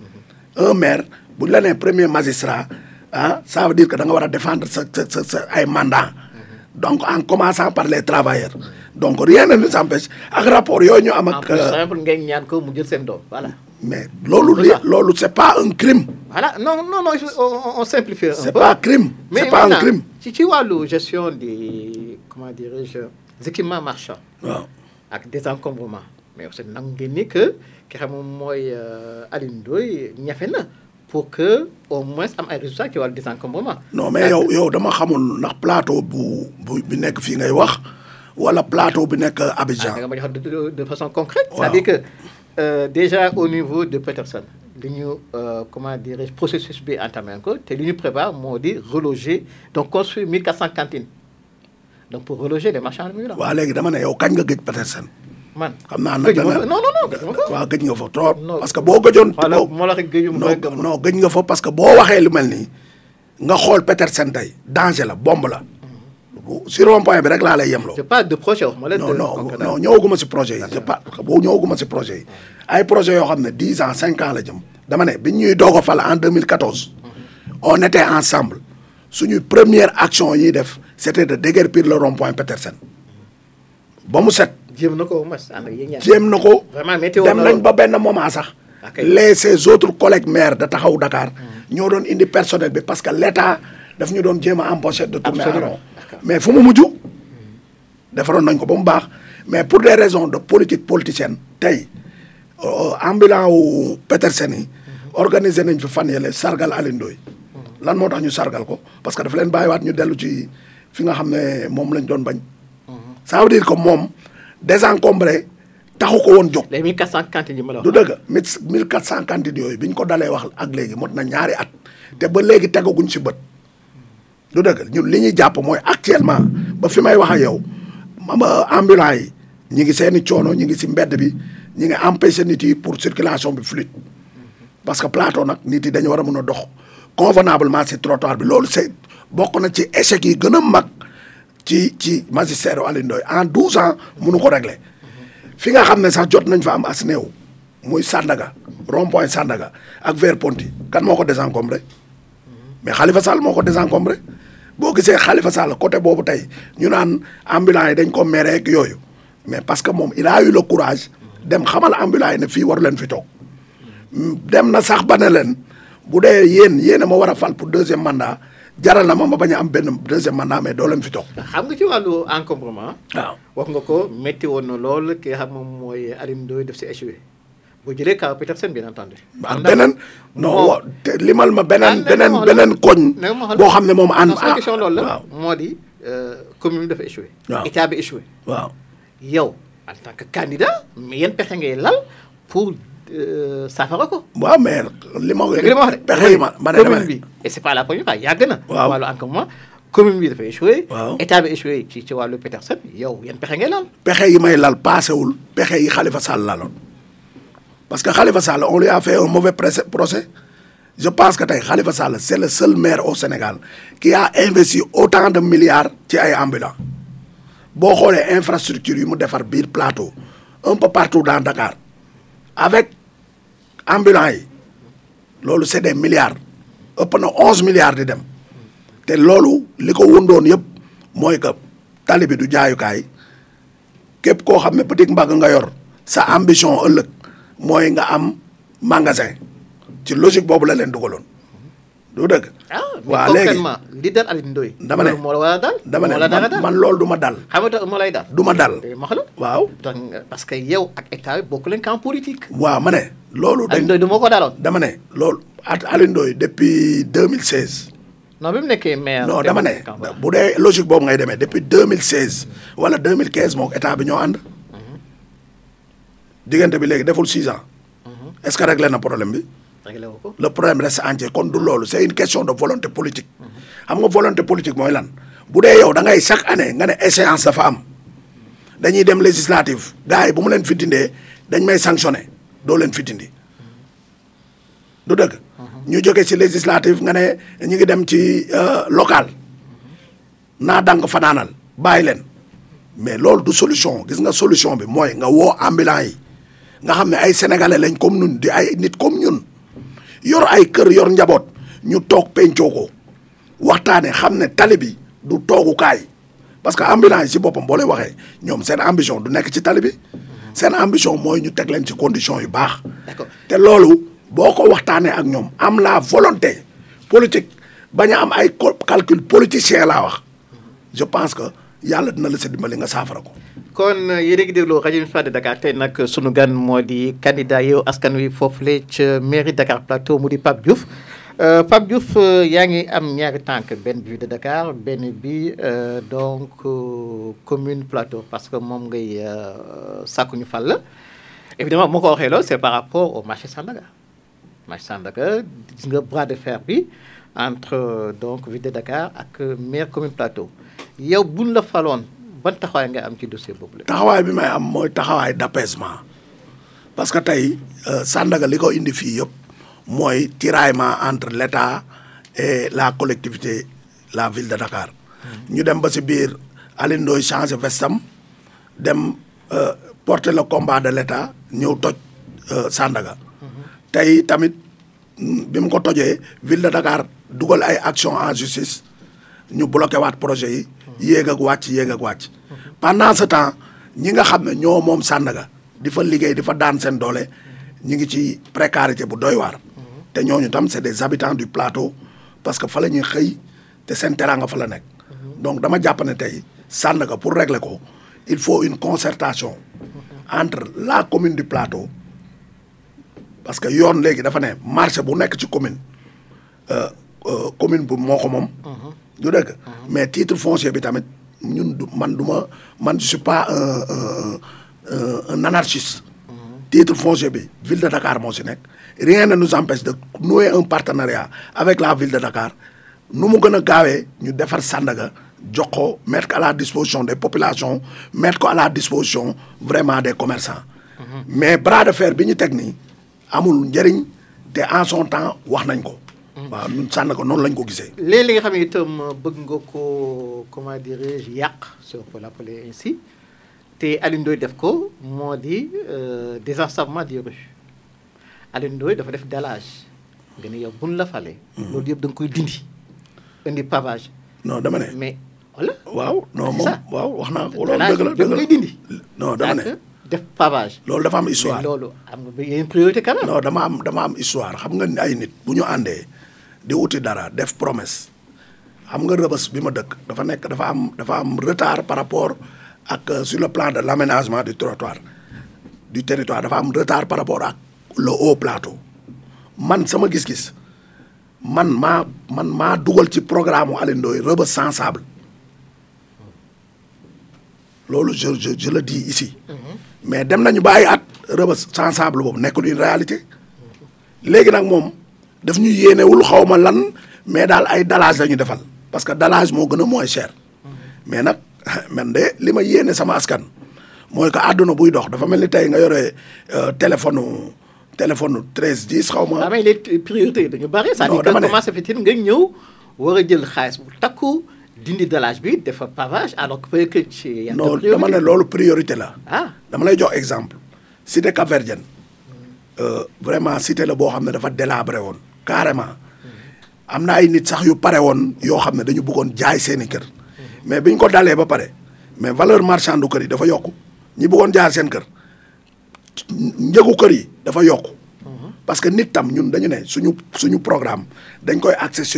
un maire bu ñu la nee premier magistrat ça veut dire que da nga war a défendre sa ay mandat donc en commençant par les travailleurs donc rien ne nous empêche ak rapport yooyu ñu am ak. en plus simple ngeen ñaan ko mu jël seen doom voilà. mais loolu c'est pas un crime. voilà non on simplifie un peu. c'est pas crime. c'est pas un crime. ci wàllu gestion des comment dirais-je des équipements marchands. waaw ak désencombrement mais aussi nangu ngeen ni que ki xam moom mooy Alioune Ndoye ñafe na pour que au moins am ay résultats ci wàllu désencombrement. non mais yow dama xamul ndax plateau bi nekk fii ngay wax. wala plateau bi nekk Abidjan. nga ma jox de façon concrète. Wow. C'est-à-dire que déjà au niveau de Petersen li ñu comment dirais-je processus bi entamé ko te li ñu prépare moo di reloger donc construire 1400 cantines donc pour reloger les marchands ambulants. waaw léegi dama ne yow kañ nga gëj Petersen. man xam naa nag non. waaw gëj nga fa trop. parce que boo gëjoon. moo la rek gëjum non gëj nga fa parce que boo waxee lu mel nii nga xool Petersen tey danger la bombe la. si rond-point bi rek laa lay yemloo. je parle de projet wax ma la. non ñëwaguma si projet yi. je parle boo ñëwaguma si projet yi. ay projet yoo xam ne 10 ans 5 ans la jëm. dama ne bi ñuy doog a fal en 2014. on était ensemble. suñu première action yi def c'était de déguerpir le rond-point Petersen. ba mu set. jéem na ko mas ànd ak yéen ñaar. jéem na ko. vraiment météo dem nañ ba benn moment sax. ses autres collègues maires de Taxawu Dakar. ñoo doon indi personnel bi parce que l'État daf ñu doon jéem a embaucher de tourner en rond. mais fu mu mujj. defaroon nañ ko ba mu baax mais pour des raisons de politique politicienne tey ambulant wu Petersen yi. organiser nañ fi fan yële sargal Alioune Ndoye. lan moo tax ñu sargal ko parce que dafa leen bàyyiwaat ñu dellu ci fi nga xam ne moom lañ doon bañ. ça veut dire que moom désencombré taxu ko woon jóg. les 1400 cantines yi ma la wax. du dëgg 1400 cantines yooyu bi ñu ko dalee wax ak léegi mot na ñaari at te ba léegi tegaguñ ci bët. du dëgg ñun li ñuy jàpp mooy actuellement ba fi may wax ak yow ambulants yi ñi ngi seeni coono ñi ngi si mbedd bi ñi ngi empêché nit yi pour circulation bi fluide parce que plateau nag nit yi dañu war a mën a dox convenablement si trottoir bi loolu c'est bokk na ci échec yi gën a mag ci magistère Alioune Ndoye en 12 ans mënu ko régler fi nga xam ne sax jot nañ fa am as néew muy Sandaga rond-point Sandaga ak vers Ponty kan moo ko désencombré mais Khalifa Sall moo ko désencombré boo gisee Khalifa Sall côté boobu tey ñu naan ambulants yi dañ ko mere ak yooyu mais parce que moom il a eu le courage dem xamal ambulants yi ne fii waru leen fi toog dem na sax ba ne leen bu dee yéen a ma war a fal pour deuxième mandat jaral na ma bañ a am benn deuxième mandat mais doo leen fi toog. xam nga ci wàllu encombrement. waaw wax nga ko métti woon na lool ki nga xam moom mooy Alioune Ndoye def si échoué boo jëlee kaw Petersen bien entendu. ak beneen non te limal ma beneen koñ. boo xam ne moom question loolu la moo di commune bi dafa échoué. waaw état bi échoué. waaw yow en tant que candidat mais yéen pexe ngay lal pour saafara ko. waaw mais li ma wax de pexe yi ma ne commune bi et c'est pas la première fois yàgg na. waaw wàllu encombrement commune bi dafa échoué. waaw état bi échoué ci wàllu Petersen yow yéen pexe ngay lal. pexe yi may lal paasewul pexe yi Khalifa Sall laloon parce que Khalifa Sall on lui a fait un mauvais procès je pense que tey Khalifa Sall c'est le seul maire au Sénégal qui a investi autant de milliards ci ay ambulants boo xoolee infrastructure yi mu defar biir plateau un peu partout dans Dakar avec ambulants yi loolu c'est des milliards ëpp na 11 milliards di dem te loolu li ko wundoon yëpp mooy que tali bi du jaayukaay képp koo xam ne petit mbagg nga yor sa ambition ëllëg mooy nga am magasin ci logique boobu la leen dugaloon du dëgg. waaw léegi li dal Alioune Ndoye. dama ne moo la war a dal. dama ne man loolu du ma dal. xam nga moo lay dal. du ma dal. ma xam la waaw. parce que yow ak état bi bokk leen camp politique. waaw ma ne. loolu Alioune Ndoye du moo ko daloon. dama ne loolu at Alioune Ndoye depuis 2016. non bi mu nekkee maire. non dama ne bu dee logique boobu ngay demee depuis 2016 wala 2015 moom état bi ñoo ànd. diggante bi léegi deful 6 ans. est-ce que réglé na problème bi. réglé wu ko. le problème reste entier kon du loolu c'est une question de volonté politique. xam nga volonté politique mooy lan bu dee yow da ngay chaque année nga ne échéance dafa am dañuy dem législative gars yi bu mu leen fi dindee dañ may sanctionner doo leen fi dindi du dëgg. ñu jóge ci législative nga ne ñu ngi dem ci local naa dang fanaanal bàyyi leen mais loolu du solution gis nga solution bi mooy nga woo ambulants yi nga xam ne ay sénégalais lañ comme ñun di ay nit comme ñun yor ay kër yor njaboot ñu toog pencoo ko waxtaane xam ne tali bi du toogukaay parce que ambulants yi ci boppam boo lay waxee ñoom seen ambition du nekk ci tali bi seen ambition mooy ñu teg leen ci conditions yu baax. d'accord te loolu boo ko waxtaanee ak ñoom am la volonté politique bañ a am ay calcul politicien laa wax je pense que yàlla dina la sa dimbali nga saafara ko. kon yéen a ngi déglu rajo Municipal de Dakar tey nag sunu gan moo di candidat Yewwi Askan Wi foofule ca mairie Dakar Plateau mu di Pape Diouf Pape Diouf yaa ngi am ñaari tànk benn bi de Dakar benn bi donc commune Plateau parce que moom ngay sàkku ñu fal la évidemment moo ko waxee loolu c'est par rapport au marché Sandaga marché Sandaga gis nga bras de fer bi entre donc ville de Dakar ak maire commune Plateau yow buñ la faloon. ban taxawaay nga am ci dossier boobu la. taxawaay bi may am mooy taxawaay d'apaisement parce que tey Sandaga li ko indi fii yëpp mooy tiraillement entre l'État et la collectivité la ville de Dakar ñu dem ba si biir Alioune Ndoye changé vestam dem porter le combat de l'État ñëw toj Sandaga tey tamit bi mu ko tojee ville de Dakar dugal ay action en justice ñu bloqué waat projet yi yéeg ak wàcc pendant ce temps ñi nga xam ne ñoo moom Sandaga di fa liggéey di fa daan seen doole ñi ngi ci précarité bu doy waar te ñooñu tam c'est des habitants du plateau parce que fa la ñuy xëy te seen teraanga fa la nekk donc dama jàpp ne tey Sandaga pour régler ko il faut une concertation entre la commune du plateau parce que yoon léegi dafa ne marché bu nekk ci commune commune bu moo ko moom du dëgg mais titre foncier bi tamit ñun man je suis pas un anarchiste titre foncier bi ville de Dakar moo si nekk rien ne nous empêche de nouer un partenariat avec la ville de Dakar nu mu gën a gaawee ñu defar Sandaga jox ko mettre ko à la disposition des populations mettre ko à la disposition vraiment des commerçants mais bras de fer bi ñu teg nii amul njëriñ te en son temps wax nañ ko waaw ñun Sandaga noonu lañ ko gisee léegi li nga xam ne itam bëgg nga ko comment dirais-je yàq si on peut l'appeler ainsi te Alioune Ndoye def ko moo di désensablement des rues Alioune Ndoye dafa def dallage nga ne yow buñ la fale loolu yëpp da nga koy dindi indi pavage non dama ne mais voilà waaw non moom waaw wax naa ko loolu dëgg la da nga koy dindi non dama ne def pavage loolu dafa am histoire loolu am nga yeneen priorité quand même non dama am histoire xam nga ay nit bu ñu àndee di wuti dara def promesse xam nga Rebeuss bi ma dëkk dafa am retard par rapport ak sur le plan de l'aménagement du territoire dafa am retard par rapport ak le haut plateau man sama gis-gis man maa dugal ci programme u Alioune Ndoye Rebeuss sans sable loolu je le dis ici mais dem nañu bàyyi at Rebeuss sans sable boobu nekkul une réalité léegi nag moom daf ñu yéenewul xawma lan mais daal ay dallage la ñu defal parce que dallage moo gën a moins cher mais nag man de li ma yéene sama askan mooy que àdduna buy dox dafa mel ni tey nga yore téléphone 1310 xaw ma. mais les priorités dañu bari. c'est-à-dire que comment ça fait-il nga ñëw war a jël xaalis bu takku dindi dallage bi dafa pavage alors que peut-être ci. non dama ne loolu priorité la. dama lay jox exemple. cité Cap-Verdien vraiment cité la boo xam ne dafa délabré woon carrément am na ay nit sax yu pare woon yoo xam ne dañu bëggoon jaay seeni kër mais biñ ko dalee ba pare mais valeur marchande du kër yi dafa yokku ñi bëggoon jaay seen kër njëgu kër yi dafa yokku parce que nit tam ñun dañu ne suñu programme dañ koy axé sur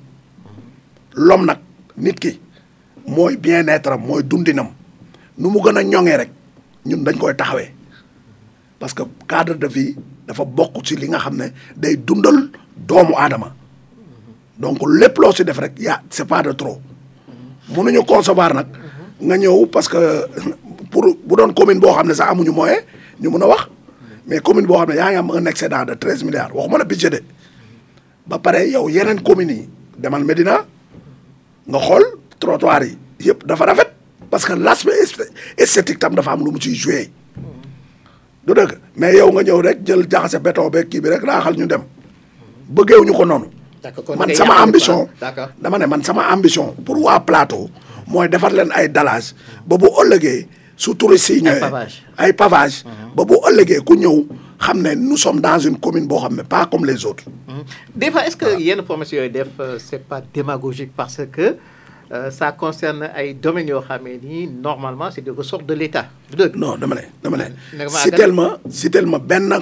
l'homme nag nit ki mooy bien-être am mooy dundinam nu mu gën a ñoŋee rek ñun dañ koy taxawee parce que cadre de vie dafa bokk ci li nga xam ne day dundal doomu aadama donc lépp loo si def rek c'est pas de trop mënuñu concevoir nag nga ñëw parce que pour bu doon commune boo xam ne sax amuñu moyen ñu mun a wax mais commune boo xam ne yaa ngi am un excédent de 13 milliards waxuma la budget de ba pare yow yeneen communes yi demal Médina nga xool trottoir yi yëpp dafa rafet parce que l'aspect esthétique tam dafa am lu mu ciy joué du dëgg mais yow nga ñëw rek jël jaxase béton beeg kii bi rek raaxal ñu dem bëggeewuñu ko noonu man sama ambition dama ne man sama ambition pour waa plateau mooy defar leen ay dallage ba bu ëllëgee su touristes yi ñëwee ay pavage ba bu ëllëgee ku ñëw xam ne nous sommes dans une commune boo xam ne pas comme les autres des fois est-ce que yenn promesses yooyu def c'est pas démagogique parce que ça concerne ay domaines yoo xamee ni normalement c'est du ressort de l'État non dama ne si tellement benn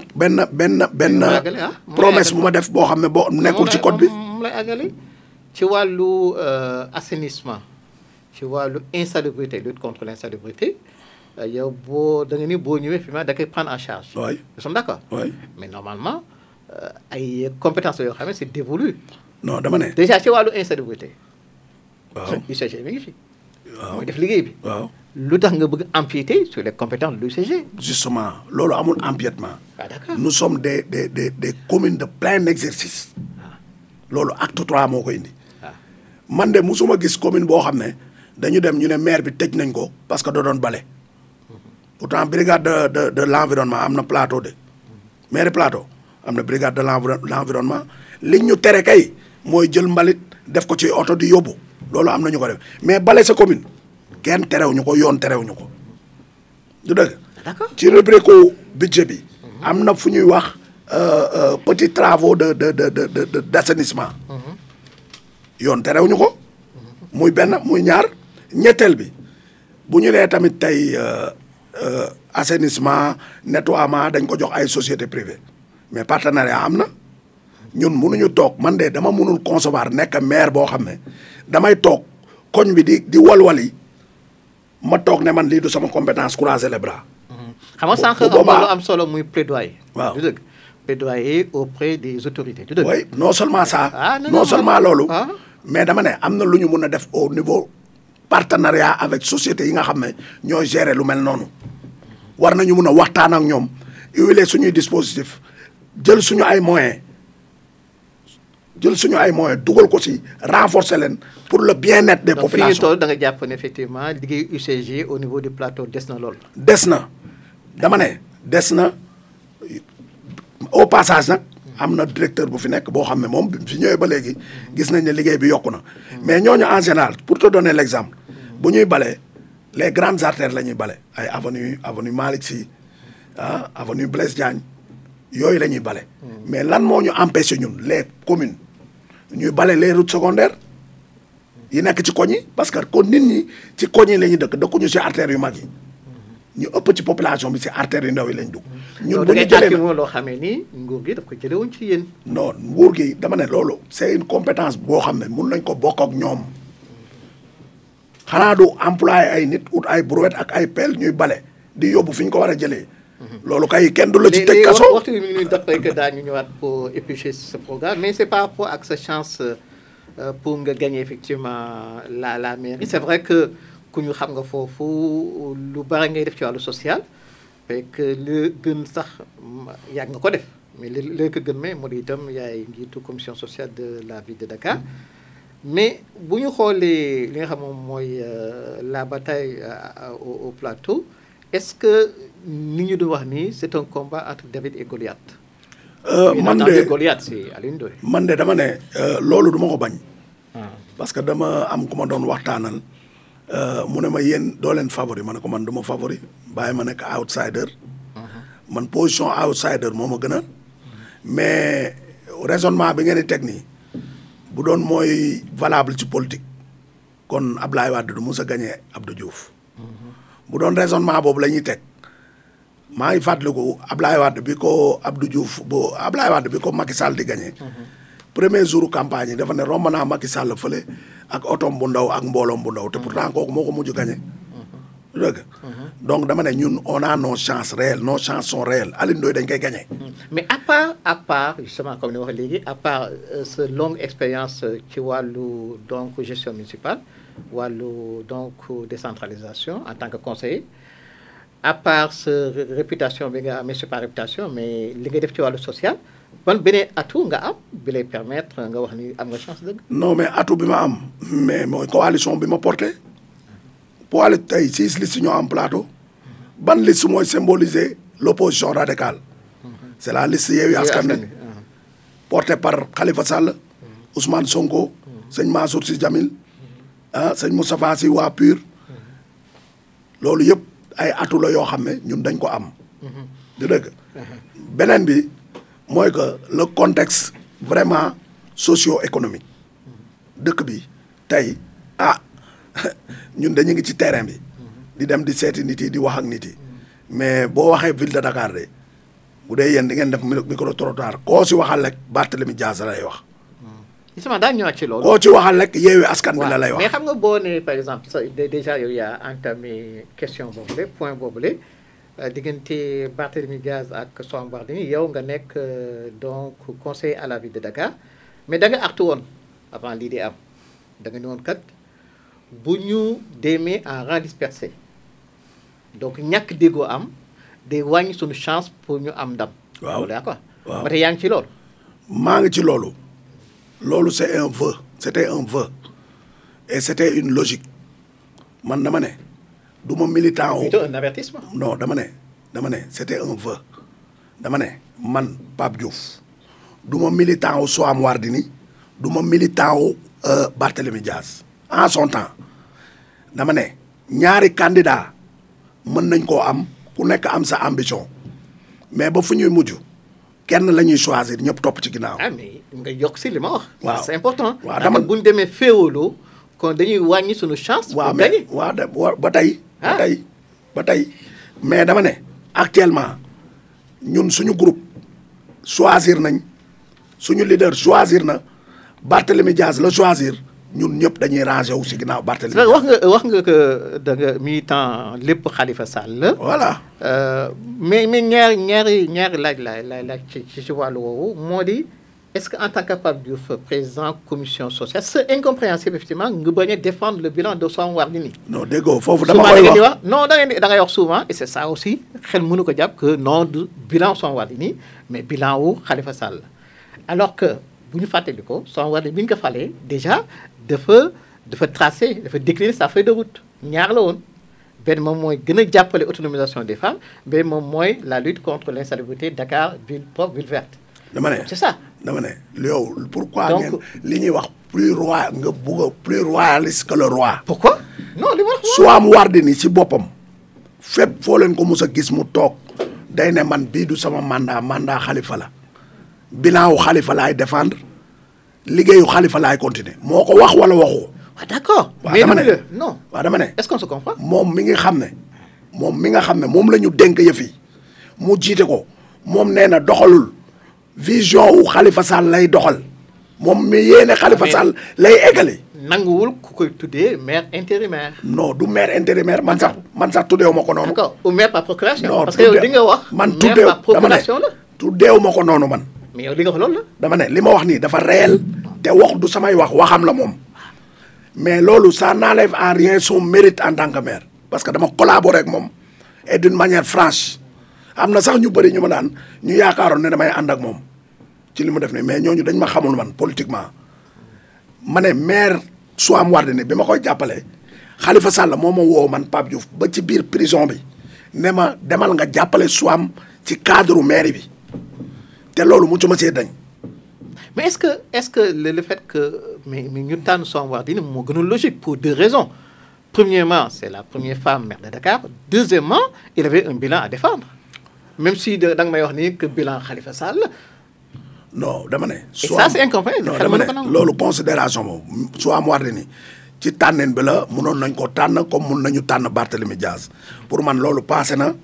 promesse bu ma def boo xam ne boo nekkul ci code bi mu lay àggale ci wàllu assainissement ci wàllu insalubrité lutte contre l'insalubrité yow boo da nga ni boo ñëwee fi ma da koy prendre en charge oui nous sommes d'accord oui mais normalement ay compétences yoo xam ne c'est dévolu non dama ne déjà ci wàllu insalubrité waaw UCG mi ngi fi mooy def liggéey bi waaw lu tax nga bëgg empiéter sur les compétences de l'UCG justement loolu amul empiètement d'accord nous sommes des communes de plein exercice loolu acte 3 moo ko indi man de musuma gis commune boo xam ne dañu dem ñu ne maire bi tëj nañ ko parce que da doon bale pourtant brigade de l'environnement am na plateau de maire plateau am na brigade de l'environnement li ñu tere kay mooy jël mbalit def ko ci oto di yóbbu loolu am na ñu ko def mais bale sa commune kenn terewuñu ko yoon terewuñu ko du dëgg. d'accord ci rubrique budget bi. am na fu ñuy wax petits travaux d'assainissement. yoon terewuñu ko. muy benn muy ñaar ñetteel bi bu ñu nee tamit tey assainissement nettoiement dañ ko jox ay sociétés privées mais partenariat am na ñun mënuñu toog man de dama mënul concevoir nekk maire boo xam ne damay toog koñ bi di walwali ma toog ne man lii du sama compétence croiser les bras. xam nga sànq am na lu am solo muy plaidoyer. waaw du dëgg plaidoyer auprès des autorités du dëgg. oui non seulement ça. non non seulement loolu. ah. mais dama ne am na lu ñu mun a def au niveau partenariat avec société yi nga xam ne ñooy gérer lu mel noonu war nañu mun a waxtaan ak ñoom huiler suñuy dispositif jël suñu ay moyens dugal ko si renforcer leen pour le bien-être des populations. donc fi ñu toll da nga jàpp ne effectivement liggéey UCG au niveau du plateau des na lool. des na dama ne des na au passage nag. am na directeur bu fi nekk boo xam ne moom bi fi ñëwee ba léegi gis nañ ne liggéey bi yokku na mais ñooñu en général pour te donner l'exemple bu ñuy bale les grandes artères la ñuy bale ay avenue Malick Sy avenue Blaise Diagne yooyu la ñuy bale mais lan moo ñu empêché ñun les communes ñuy bale les routes secondaires yi nekk ci koñ yi parce que kon nit ñi ci koñ yi la ñuy dëkkuñu ci artères yu mag yi ñu ëpp ci population bi ci artères yu ndaw yi lañ dugg. ñun bu ñu jëlee loo xamee ni nguur gi daf ko jëlee woon ci yéen. non nguur gi dama ne loolu c'est une compétence boo xam ne mun nañ ko bokk ak ñoom xanaa du employé ay nit ut ay brouette ak ay pelle ñuy bale di yóbbu fi ñu ko war a jëlee. loolu kay kenn du la ci tëj kaso. waxtu bi mi ngi nuy def rek daañu ñëwaat pour éplucher ce programme mais c'est par rapport ak sa chance pour nga gagner effectivement la mairie c'est vrai que. ku ñu xam nga foofu lu bari ngay def ci wàllu social fekk li gën sax yàgg nga ko def mais li ko gën mais moo di itam yaay njiitu commission sociale de la ville de Dakar mais bu ñu xoolee li nga xam moom mooy la bataille au plateau est-ce que ni ñu doon wax nii c'est un combat entre David et Goliath. man de Goliath c'est Alioune Ndoye. man de dama ne loolu du ma ko bañ. parce que dama am ku ma doon waxtaanal. mu ne ma yéen doo leen favori ma ne ko man du ma favori bàyyi ma nekk outsider man position outsider moo ma gën a mais raisonnement bi ngeen di teg nii bu doon mooy valable ci politique kon Ablaye Wade du mos a gagné Abdou Diouf bu doon raisonnement boobu la ñuy teg maa ngi fàttaliku Ablaye Wade bi ko Macky Sall di gagné premier jour campagne yi dafa ne romb naa Macky Sall fële ak otom bu ndaw ak mbooloom bu ndaw te pourtant kooku moo ko mujj gagné. dëgg donc dama ne ñun on a nos chances réelles nos chances sont réelles Alioune Ndoye dañ koy gagné. mais à part justement comme ni wax léegi à part sa longue expérience ci wàllu donc gestion municipale wàllu donc décentralisation en tant que conseiller à part sa réputation bi nga amee c'est pas réputation mais li ngay def ci wàllu social. ban beneen atout nga am bi lay permettre nga wax ni am nga chance dëgg. non mais atout bi ma am mais mooy coalition bi ma porté poids tey 6 listes ñoo am plateau ban liste mooy symboliser l'opposition radicale c'est la liste Yewwi Askan Wi portée par Khalifa Sall Ousmane Sonko sëñ Mansour Sy Djamil sëñ Moustapha Sy waa PUR loolu yëpp ay atout la yoo xam ne ñun dañ ko am di dëgg beneen bi mooy que le contexte vraiment socio-économique dëkk bi tey ñun dañu ngi ci terrain bi di dem di seeti nit yi di wax ak nit yi mais boo waxee ville de Dakar de bu dee yéen di ngeen def micro trottoir koo si waxal rek Barthélémy Dias lay wax. justement daañu ñëwaat ci loolu. koo ci waxal rek Yewwi Askan Wi la lay wax. mais xam nga boo nee par exemple déjà yow yaa entamé question boobule point boobule. diggante Barthélémy Dias ak Soham Wardini yow nga nekk donc conseiller à la ville de Dakar mais da nga artu woon avant lii di am da nga ne woon kat bu ñu demee en rang dispersé donc ñàkk déggoo am day wàññi suñu chance pour ñu am ndam. waaw d'accord waaw ba tey yaa ngi ci loolu. maa ngi ci loolu. loolu c'est un vœu c'était un vœu et c'était une logique man dama ne. du ma militant plutôt un avertissement. non dama ne c'était un vœu dama ne man Pape Diouf du ma militant wu Soham Wardini du ma militant wu Barthélémy Dias en son temps dama ne ñaari candidat mën nañ koo am ku nekk am sa ambition mais ba fu ñuy mujj kenn la ñuy choisir ñëpp topp ci ginnaaw. ah mais nga yokk si li ma wax. waaw c'est important. waaw dama bu ñu demee féewaloo kon dañuy wàññi suñu chance. waaw pour mais gagner. waaw ba tey. ba tey mais dama ne actuellement ñun suñu groupe choisir nañ suñu leader choisir na Barthélémy Dias la choisir ñun ñëpp dañuy rangé wu si ginnaaw Barthélémy Dias. wax nga que da nga militant lépp Khalifa Sall la. voilà. mais ñaari laaj ci wàllu woowu moo di est-ce que en tant que Pape Diouf président commission sociale c'est incompréhensible effectivement nga bañ a défendre le bilan de Soham Wardini. non déggoo foofu dama koy souvent wax non da ngay wax souvent et c'est ça aussi xel mënu ko jàpp que non du bilan Soham Wardini mais bilan wu Khalifa Sall alors que bu ñu fàttali ko Soham Wardini bi ñu ko falee déjà dafa tracé dafa décliner sa feuille de route ñaar la woon benn moom mooy gën a jàppale autonomisation des femmes benn moom mooy la lutte contre l'insalubrité Dakar ville propre ville verte. dama ne c'est ça. dama ne yow pourquoi Donc, ngeen li ñuy wax plus roi nga bugg a plus royaliste que le roi. pourquoi non li ma wax. Soham Wardini ci boppam fépp foo leen ko mus a gis mu toog day ne man bii du sama mandat Khalifa la bilan wu Khalifa laay défendre liggéeyu Khalifa laay continuer moo ko wax wala waxu. waaw d'accord. waaw mais dama ne non. waaw dama ne. est-ce qu'on se comprend. moom mi nga xam ne moom la ñu dénk yëf yi mu jiite ko moom nee na doxalul vision wu Khalifa Sall lay doxal moom mi yéene Khalifa Sall lay eggale. nanguwul ku koy tuddee maire intérimaire. non du maire intérimaire man sax tuddeewu ma ko noonu. d'accord ou maire par procuration. non parce que yow li nga wax. man maire par procuration la. tuddeewu ma ko noonu man. mais yow li nga wax loolu la. dama ne li ma wax nii dafa réel te wax du samay waxam la moom mais loolu ça n'enlève en rien son mérite en tant que maire parce que dama collaborer ak moom et d'une manière franche am na sax ñu bëri ñu ma daan ñu yaakaaroon ne damay ànd ak moom ci li mu def nii mais ñooñu dañ ma xamul man politiquement ma ne maire Soham Wardini bi ma koy jàppale Khalifa Sall moo ma woo man Pape Diouf ba ci biir prison bi ne ma demal nga jàppale Soham ci cadre maire bi te loolu mu ci ma see dañ. mais est-ce que le fait que mais ñu tànn Soham Wardini moo gën a logique pour deux raisons premièrement c'est la première femme maire de Dakar deuxièmement il avait un bilan à défendre même si da nga may wax ni que bilan Khalifa Sall. non dama ne. et ça c'est incompréhensible. non dama ne loolu considération boobu Soham Wardini ci tànneen bi la mënoon nañ ko tànn comme mun nañu tànn Barthélémy Dias pour man loolu passé na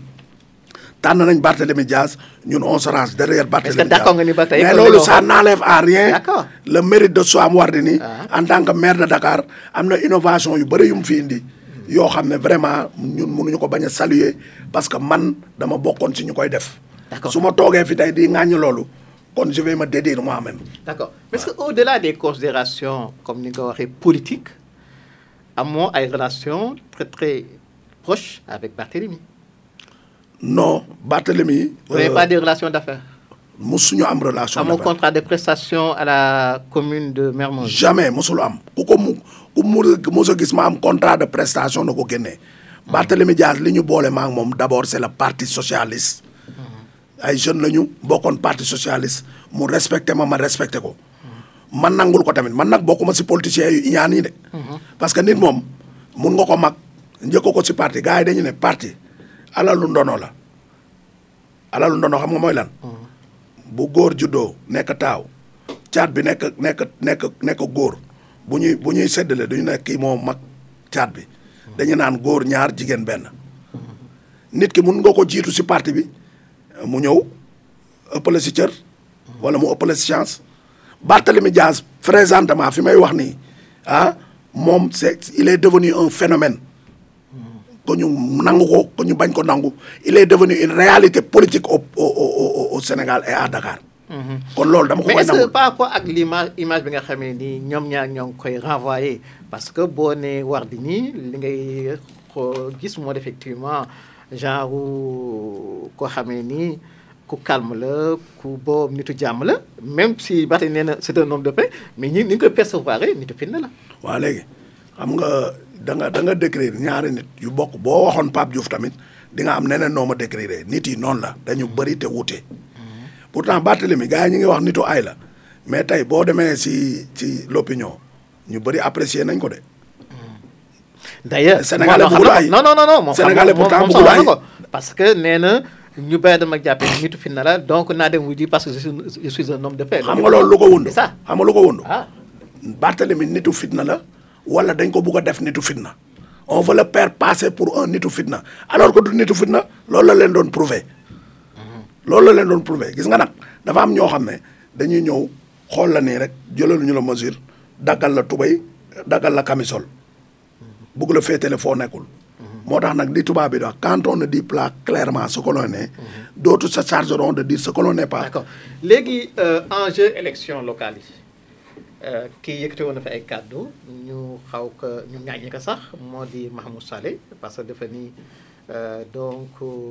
tànn nañ Barthélémy Dias ñun on se range derrière Barthélémy Dias. est-ce que d'accord nga ni ba tey mais loolu ça n'enlève en rien. D'accord. le mérite de Soham Wardini en tant que maire de Dakar am na innovation yu bëri yu mu fi indi yoo xam ne vraiment ñun mënuñu ko bañ a saluer parce que man dama bokkoon ci ñu koy def. D'accord. su ma toogee fi tey di ŋàññi loolu kon je vais me dédire moi-même. D'accord mais est-ce que au-delà des considérations comme ni nga ko waxee politique amoo ay relations très très proches avec Barthélémy. non Barthélémy. vous n'avez pas de relations d'affaires. musuñu am relation amoo d'affaires. contrat de prestation à la commune de Mermoz. jamais musul am ku mos a gis ma am contrat de prestation na ko génnee. Barthélémy Dias li ñu boole ma ak moom d'abord c'est le parti socialiste. ay jeunes lañu bokkoon parti socialiste mu respecté ma respecté ko. man nangul ko tamit man nag bokkuma si politiciens yu iñaan yi de. parce que nit moom mun nga ko mag njëkk ko si parti gars yi dañu ne parti alalu ndono la alalu ndono xam nga mooy lan. bu góor juddoo nekk taaw caat bi nekk góor bu ñuy séddale duñu ne kii moo mag caat bi dañu naan góor ñaar jigéen benn nit ki mun nga ko jiitu si parti bi mu ñëw ëppale si cër wala mu ëppale si chance Barthélémy Dias présentement fi may wax nii moom il est devenu un phénomène ko ñu nangu ko ñu bañ ko nangu il est devenu une réalité politique au Sénégal et à Dakar. kon loolu dama ko koy nangu. mais est-ce que par rapport ak image bi nga xamee ni ñoom ñaar ñoo ngi koy renvoyer parce que boo nee Wardini li ngay gis moo effectivement genre ko xamee ni ku calme la ku boobu nitu jàmm la même si Barthélémy nee na c'est un homme de paix mais ñi ni ñu koy percevoir nitu fitna la. waaw léegi xam nga da nga décrire ñaari nit yu bokk boo waxoon Pape Diouf tamit di nga am neneen noo ma décrire nit yi noonu la dañu bëri te wuute. pourtant Barthélémy gars yi ñu ngi wax nitu ay la mais tey boo demee ci l'opinion ñu bëri apprécier nañ ko de. d'ailleurs Sénégalais bëggul ay non Sénégalais pourtant bëggul ay parce que nee na ñu bëri dama jàppee nitu fitna la donc naa dem wuy ji parce que je suis un homme de paix. xam nga loolu lu ko wund. c'est ça xam nga lu ko wund. ah Barthélemy nitu fitna la wala dañ ko bugg a def nitu fitna on veut le faire passer pour un nitu fitna alors que du nitu fitna loolu la leen doon prouver. loolu la leen doon prouver gis nga nag dafa am ñoo xam ne dañuy ñëw xool la nii rek jëlaluñu la mesure daggal la tubay daggal la camisole bugg la féetale foo nekkul. moo tax nag li tubaab bi di wax quand on ne dit pas clairement ce que l'on est d'autres se chargeront de dire ce que l'on n'est pas. d'accord léegi enjeu élection locale yi kii yëkkati woon na fa ay kàddu ñu xaw ko ñu ñaañi ko sax moo di Mahmoud Saleh parce que dafa ni donc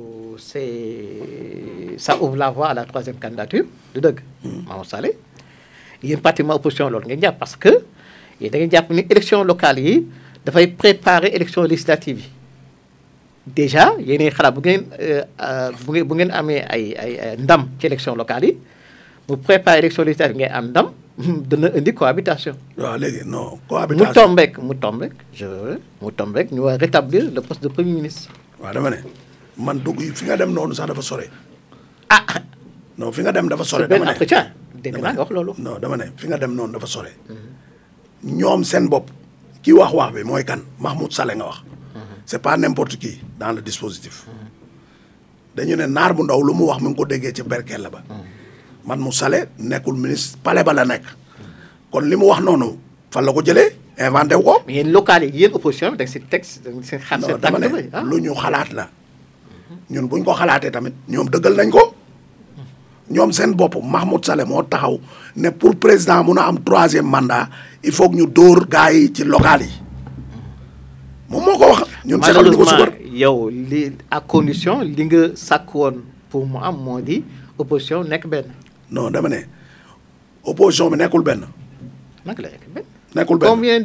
ça ouvre la voie à la troisième candidature du dëgg. Mahmoud Saleh yéen pratiquement opposition loolu ngeen jàpp parce que yéen da ngeen jàpp ni élection locale yi dafay préparer élection législative yi déjà yéenay xalaat bu ngeen amee ay ndam ci élection locale yi bu préparer élection législative ngeen am ndam dana indi cohabitation. waaw léegi non cohabitation mu tombeek ñu war rétablir le poste de premier ministre. waaw dama ne man dugg fi nga dem noonu sax dafa sore. ah non fi nga dem dafa sore. dama ne entretien dégg naa nga wax loolu. non dama ne fi nga dem noonu dafa sore. ñoom seen bopp ki wax bi mooy kan Mahmoud Saleh nga wax. c'est pas n'importe qui dans le dispositif. dañu ne naar bu ndaw lu mu wax mu ngi ko déggee ci berkelle ba. man mu Saleh nekkul ministre palais ba la nekk. kon li mu wax noonu fan la ko jëlee inventé wu ko. mais yéen local yi yéen opposition bi da nga si texte da nga si xaar seen dama ne lu ñu xalaat la. ñun buñ ko xalaatee tamit ñoom dëggal nañ ko. ñoom seen bopp Mahmoud Saleh moo taxaw ne pour président mun a am 3e mandat il faut que ñu dóor gars yi ci local yi. moom moo ko wax. ñun saxal ñu ko subar yow li à condition li nga sàkk woon pour mu am moo di opposition nekk benn. non dama ne opposition bi nekkul benn. naka la nekk benn. nekkul benn combien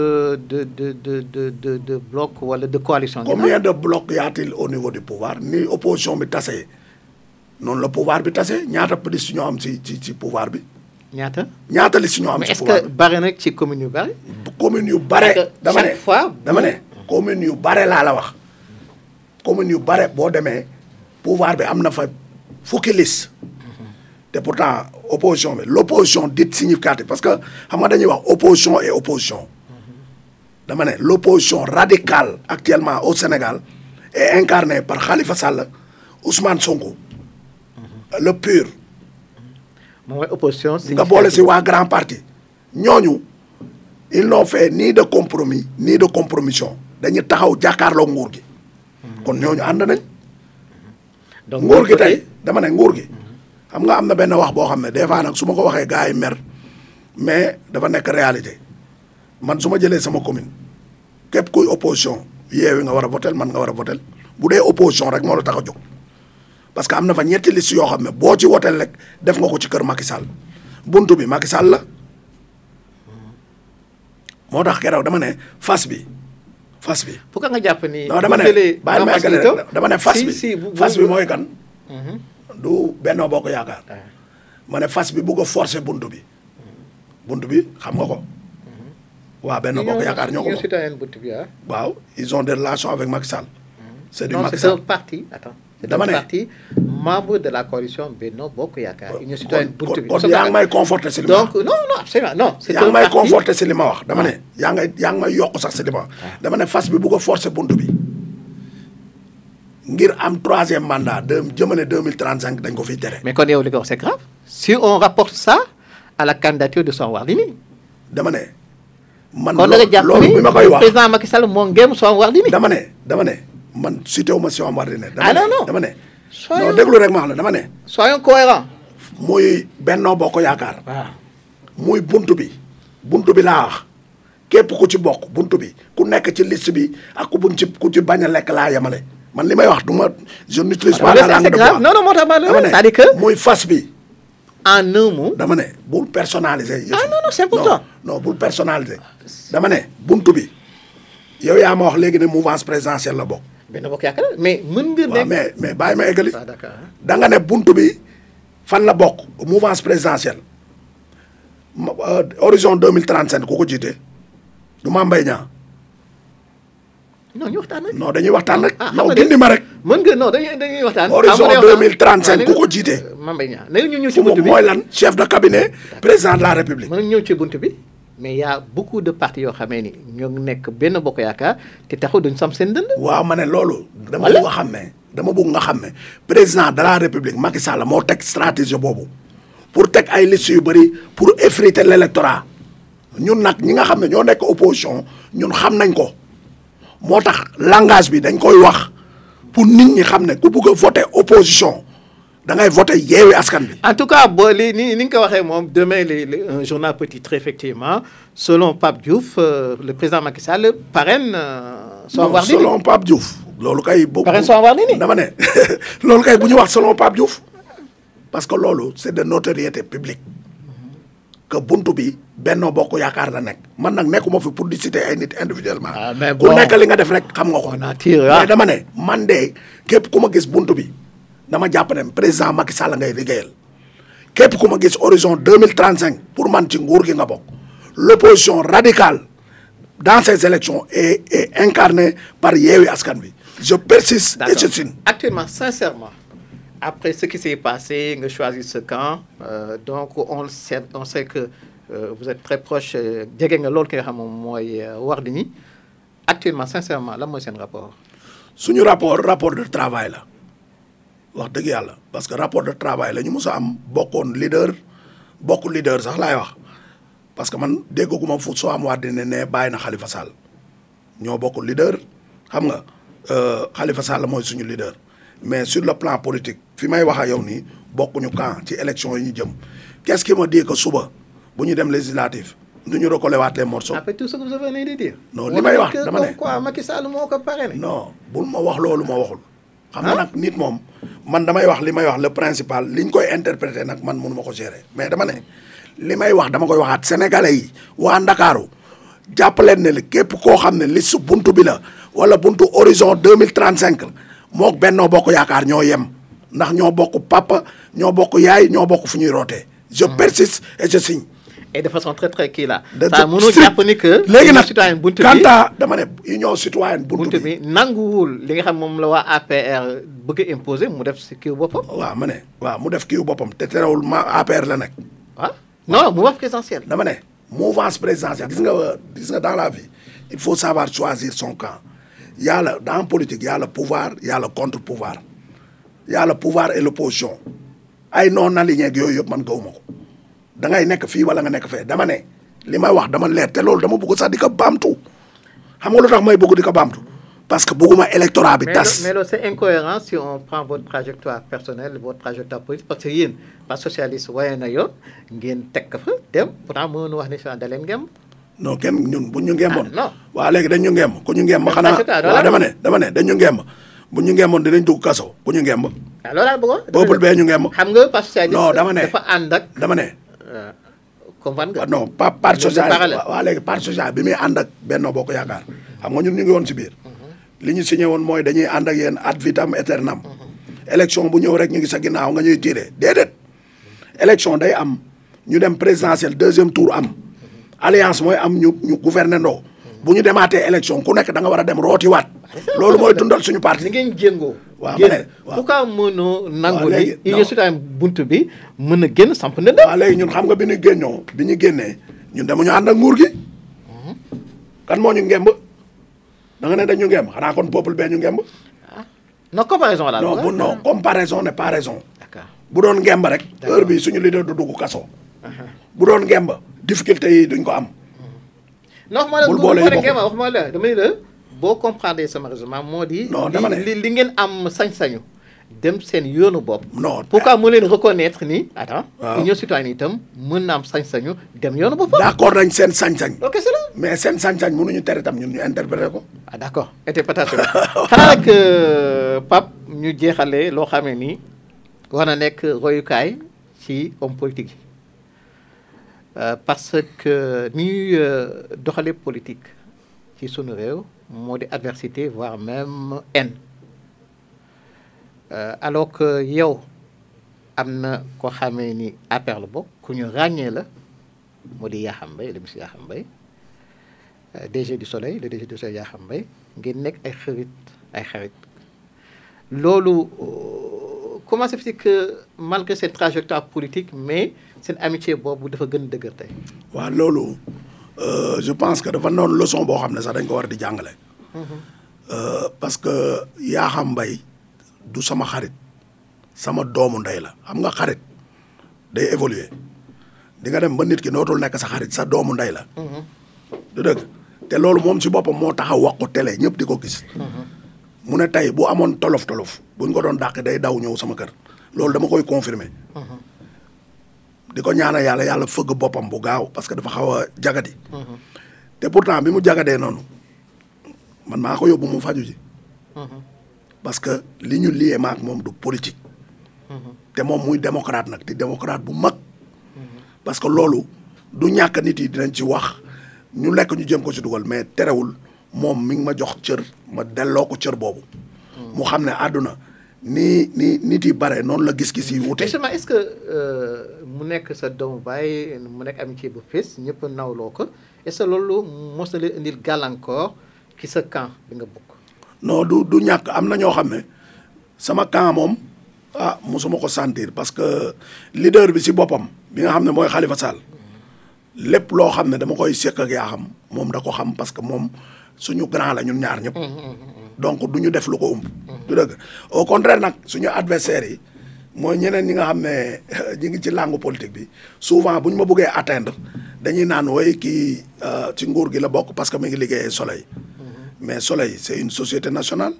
de blocs wala de coalition. combien de blocs y a-t-il au niveau du pouvoir ni opposition bi tasee noonu la pouvoir bi tasee ñaata liste ñoo am ci pouvoir bi. ñaata liste ñoo am ci pouvoir bi. mais est-ce que bare na ci communes yu bare. communes yu bare. dama ne chaque fois dama ne communes yu bare laa la wax. communes yu bare boo demee pouvoir bi am na fa fukki liste. te pourtant opposition bi l'opposition dite significative parce que xam nga dañuy wax opposition et opposition. dama ne l'opposition radicale actuellement au Sénégal est incarnée par Khalifa Sall Ousmane Sonko. le PUR. mooy opposition nga boole si waa grand parti ñooñu ils n'ont fait ni de compromis ni de compromission dañu taxaw jàkkaarloo nguur gi. kon ñooñu ànd nañ. donc nguur gi tey dama ne nguur gi. xam nga am na benn wax boo xam ne des fois nag su ma ko waxee gars yi mer mais dafa nekk réalité man su ma jëlee sama commune képp kuy opposition Yewwi nga war a votel man nga war a votel bu dee opposition rek moo la tax a jóg. parce que am na fa ñetti liste yoo xam ne boo ci wotel rek def nga ko ci kër Macky Sall buntu bi Macky Sall la moo tax keroog dama ne fas bi. pourquoi nga jàpp ni. non dama ne bàyyi ma eggale dama ne fas bi mooy kan. du Benno Bokk Yaakaar. ma ne fas bi bugg a forcer buntu bi. buntu bi xam nga ko. waa Benno Bokk Yaakaar ñoo ko moom. waaw ils ont des relations avec Macky Sall. c'est du Macky Sall c'est un parti attends. dama ne parti membre de la coalition Benno Bokk Yaakaar. Union Citoyenne buntu bi kon yaa ngi may conforter si li ma wax. donc non absolument non. c'est yaa ngi may conforter si li ma wax dama ne. yaa ngi may yokk sax si li ma wax. dama ne fas bi bugg a forcer buntu bi. ngir am 3e mandat jëmale 2035 dañ ko fiy tere. mais kon yow li nga wax c'est grave. si on rapporte ça à la candidature de Soham Wardini. dama ne. man loolu bi ma koy wax président Macky Sall moo ngéem Soham Wardini. dama ne man cité wu ma Soham Wardini. non dama ne. non déglu rek ma wax la dama ne. soyons cohérents. muy Benno Bokk Yaakaar. waaw muy buntu bi laa wax képp ku ci bokk buntu bi ku nekk ci liste bi ak ku ci bañ a lekk laa yemale. man li may wax du ma je n'utilise pas la langue de bois. non moo tax ma ne c'est-à-dire que muy fas bi. en un mot. dama ne bul personnaliser. non c'est important. non bul personnaliser. dama ne buntu bi yow yaa ma wax léegi ne mouvance présidentielle la bokk. Benno Bokk Yaakaar mais mën nga. waaw mais bàyyi ma eggali. d'accord da nga ne buntu bi fan la bokk mouvance présidentielle horizon 2035 ku ko jiite. du Mame Mbaye Niang. non ñu waxtaan rek. non dañuy waxtaan rek. ah non gindi ma rek. mën nga non dañuy waxtaan. horizon 2035 ku ko jiite. Mame Mbaye Niang léegi ñu ñëw ci buntu bi mooy lan chef de cabinet président de la république. mën nañu ñëw ci buntu bi mais y a beaucoup de partis yoo xamee ni ñoo nekk benn bokk yaakaar te taxul duñ sam seen dënd. waaw ma ne loolu. dama bëgg nga xam ne dama bëgg nga xam ne président de la république Macky Sall moo teg stratégie boobu pour teg ay listes yu bëri pour effriter l'électorat ñun nag ñi nga xam ne ñoo nekk opposition ñun xam nañ ko. moo tax langage bi dañ koy wax pour nit ñi xam ne ku bëgg a voter opposition da ngay voter Yewwi Askan Wi. en tout cas boo li ni nga ko waxee moom demain un journal peut titre effectivement selon Pape Diouf le président Macky Sall parraine Soham Wardini. selon Pape Diouf. loolu kay parraine Soham Wardini dama ne loolu kay bu ñu wax selon Pape Diouf parce que loolu c'est de notoriété publique que buntu bi Benno Bokk Yaakaar la nekk man nag nekkuma fi pour di citer ay nit individuellement. mais ku nekk li nga def rek xam nga ko. mais dama ne man de képp ku ma gis buntu bi dama jàpp ne président Macky Sall ngay liggéeyal képp ku ma gis horizon 2035 pour man ci nguur gi nga bokk. L'opposition radicale dans ces élections est incarnée par Yewwi Askan Wi. Je persiste et je signe. Actuellement, sincèrement, après ce qui s'est passé, nga choisir ce camp, donc on sait que vous êtes très proche jege nga loolu ki nga xam moom mooy Wardini actuellement sincèrement lan mooy seen rapport. suñu rapport de travail la wax dëgg yàlla parce que rapport de travail la ñu mës a am bokk leader sax laay wax parce que man dégguma fu Soham Wardini ne bàyyi na Khalifa Sall ñoo bokk leader xam nga Khalifa Sall mooy suñu leader mais sur le plan politique fi may wax ak yow nii bokkuñu camp ci élection yi ñu jëm qu'est-ce qui me dit que suba. bu ñu dem législatif du ñu recoller waat les morceaux. après tout ce que vous venez de dire. non li may wax dama ne quoi Macky Sall moo ko parrainé. non bul ma wax loolu ma waxul. xam nga nag nit moom man damay wax li may wax le principal li ñu koy interpréter nag man mënu ma ko gérer mais dama ne li may wax dama koy waxaat sénégalais yi waa Ndakaaru jàpp leen ne képp koo xam ne liste buntu bi la wala buntu horizon 2035 mook Benno Bokk Yaakaar ñoo yem ndax ñoo bokk papa ñoo bokk yaay ñoo bokk fu ñuy rootee. je persiste et je signe. et de façon très très kii la. ça mënul jàpp ni que. léegi nag citoyenne buntu bi kanta dama ne union citoyenne buntu bi nanguwul li nga xam moom la waa APR bëgg a imposer mu def si kiiw boppam. waaw ma ne waaw mu def kiiw boppam te terewul ma APR la nekk. ah non mouvance présidentielle. dama ne mouvance présidentielle gis nga dans la vie il faut savoir choisir son camp y a le dans politique y a le pouvoir y a le contre-pouvoir y a le pouvoir et l'opposition ay non aligné ak yooyu yëpp man gawuma ko. da ngay nekk fii wala nga nekk fee dama ne li may wax dama leer te loolu dama bëgg sax di ko baamtu xam nga lu tax may bëgg di ko baamtu parce que bëgguma électorat bi tas. mais loolu c'est incohérent si on prend votre trajectoire personnelle votre trajectoire politique parce que yéen Parti socialiste waaye na yoon ngeen teg ko fa dem pourtant mënoon wax ne si da leen ngemb. non kenn ñun bu ñu ngemboon. non waaw léegi dañ ñu ngemb ku ñu ngemb xanaa waaw dama ne dañ ñu ngemb bu ñu ngemboon dinañ dugg kaso ku ñu ngemb. waaw loolu laa bëggoon. peuple bee ñu ngemb. xam nga Parti socialiste non dama ne dafa ànd ak. dama ne. comprendre nga. non pas Parti socialiste waaw léegi Parti socialiste bi muy ànd ak Benno Bokk Yaakaar xam nga ñun ñu ngi woon si biir. li ñu signé woon mooy dañuy ànd ak yéen ad vitam aeternam. élection bu ñëw rek ñu ngi sa ginnaaw nga ñuy tiré déedéet. élection day am ñu dem présidentielle deuxième tour am alliance mooy am ñu gouverner ndoo bu ñu demaatee élection ku nekk da nga war a dem rootiwaat. loolu mooy dundal suñu parti. ni ngeen jéngoo. waaw ma ne waaw pourquoi mënoo nangu léegi ni union citoyenne buntu bi mën a génn samp ndënd. waaw léegi ñun xam nga bi ñu génnee ñun demuñu ànd ak nguur gi. kan moo ñu ngemb da nga ne dañu ngemb xanaa kon peuple bee ñu ngemb. non comparaison la. non comparaison n'est pas raison. d'accord bu doon ngemb rek. heure bi suñu leader du dugg kaso. bu doon ngemb difficulté yi duñ ko am. bul boole yi wax ma la dama ne la boo comprendre sama raisonnement moo di. non dama ne li ngeen am sañ-sañu dem seen yoonu bopp. non pourquoi mu leen reconnaître ni. attends waaw union citoyenne itam mën na am sañ-sañu dem yoonu bopp. d'accord nañ seen sañ-sañ. ok c'est là. mais seen sañ-sañ mënuñu tere tam ñun ñu interpréter ko. ah d'accord interprétation xanaa nag Pape ñu jeexalee loo xam ne nii war na nekk royukaay ci homme politique yi parce que ni ñuy doxalee politique ci sunu réew moo di adversité voire même haine alors que yow am na koo xamee ni APR la bokk ku ñu ràññee la moo di Yakham Mbaye le monsieur Yakham Mbaye DG du Soleil le DG du Soleil Yakham Mbaye ngeen nekk ay xarit loolu comment ça fait que malgré cette trajectoire politique mais seen amitié boobu dafa gën a dëgër tey. waaw loolu je pense que dafa noonu leçon boo xam ne sax dañ ko war di jàngale. parce que Yakham Mbaye du sama xarit sama doomu ndey la xam nga xarit day évoluer di nga dem ba nit ki nootul nekk sa xarit sa doomu ndey la. du dëgg te loolu moom ci boppam moo taxaw wax ko télé ñëpp di ko gis. mu ne tey bu amoon tolof buñ ko doon dàq day daw ñëw sama kër loolu dama koy confirmer. di ko ñaanal yàlla fëgg boppam bu gaaw parce que dafa xaw a jagadi. te pourtant bi mu jagadee noonu man maa ko yóbbu mu faju ji. parce que li ñu liyee maak moom du politique. te moom muy démocrate nag di démocrate bu mag. parce que loolu du ñàkk nit yi dinañ ci wax ñu lekk ñu jëm ko ci dugal mais terewul moom mi ngi ma jox cër ma delloo ko cër boobu. mu xam ne àdduna ni nit yi bare noonu la gis-gis yi wute. justement est-ce que mu nekk sa doomu baay mu nekk amitié bu fees ñëpp nawloo ko est-ce que loolu mos na leen indil gàllankoor ci sa camp bi nga bokk. non du ñàkk am na ñoo xam ne sama camp moom mosuma ko sentir parce que leader bi si boppam bi nga xam ne mooy Khalifa Sall lépp loo xam ne dama koy sekk ak Yakham moom da ko xam parce que moom suñu grand la ñun ñaar ñëpp. donc du ñu def lu ko du dëgg au contraire nag suñu adversaires yi mooy ñeneen ñi nga xam ne ñi ngi ci langue politique bi souvent bu ñu ma bëggee atteindre dañuy naan woy kii ci nguur gi la bokk parce que mi ngi liggéeyee Soleil. mais Soleil c'est une société nationale.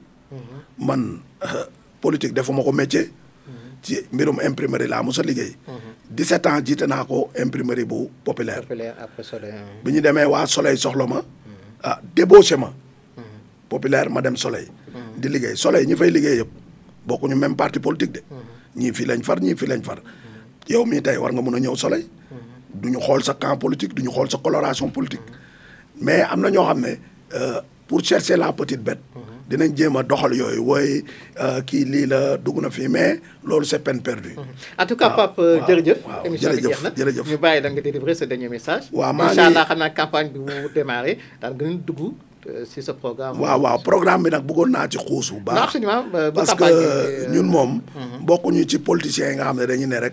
man politique defuma ko métier. ci mbirum imprimerie laa mos a liggéey. 17 ans jiite naa ko imprimerie bu populaire. après Soleil. bi ñu demee waa Soleil soxla ma. débauché ma. populaire ma dem Soleil. di liggéey Soleil ñi fay liggéey yëpp bokkuñu même parti politique de. ñii fii lañ far ñii fii lañ far. yow mii tey war nga mën a ñëw Soleil. du ñu xool sa camp politique du ñu xool sa coloration politique. mais am na ñoo xam ne pour chercher la petite bête. dinañ jéem a doxal yooyu wooy kii lii la dugg na fii mais loolu c'est peine perdue. en tout cas Pape jërëjëf. émission bi jeex na jërëjëf ñu bàyyi la nga délivrer ce dernier message. waaw maa ngi incha allah xam naa campagne bi mu démarré daal gën a dugg si sa programme. waaw programme bi nag bëggoon naa ci xuus bu baax. non absolument parce que ñun moom. bokkuñu ci politiciens yi nga xam ne dañuy ne rek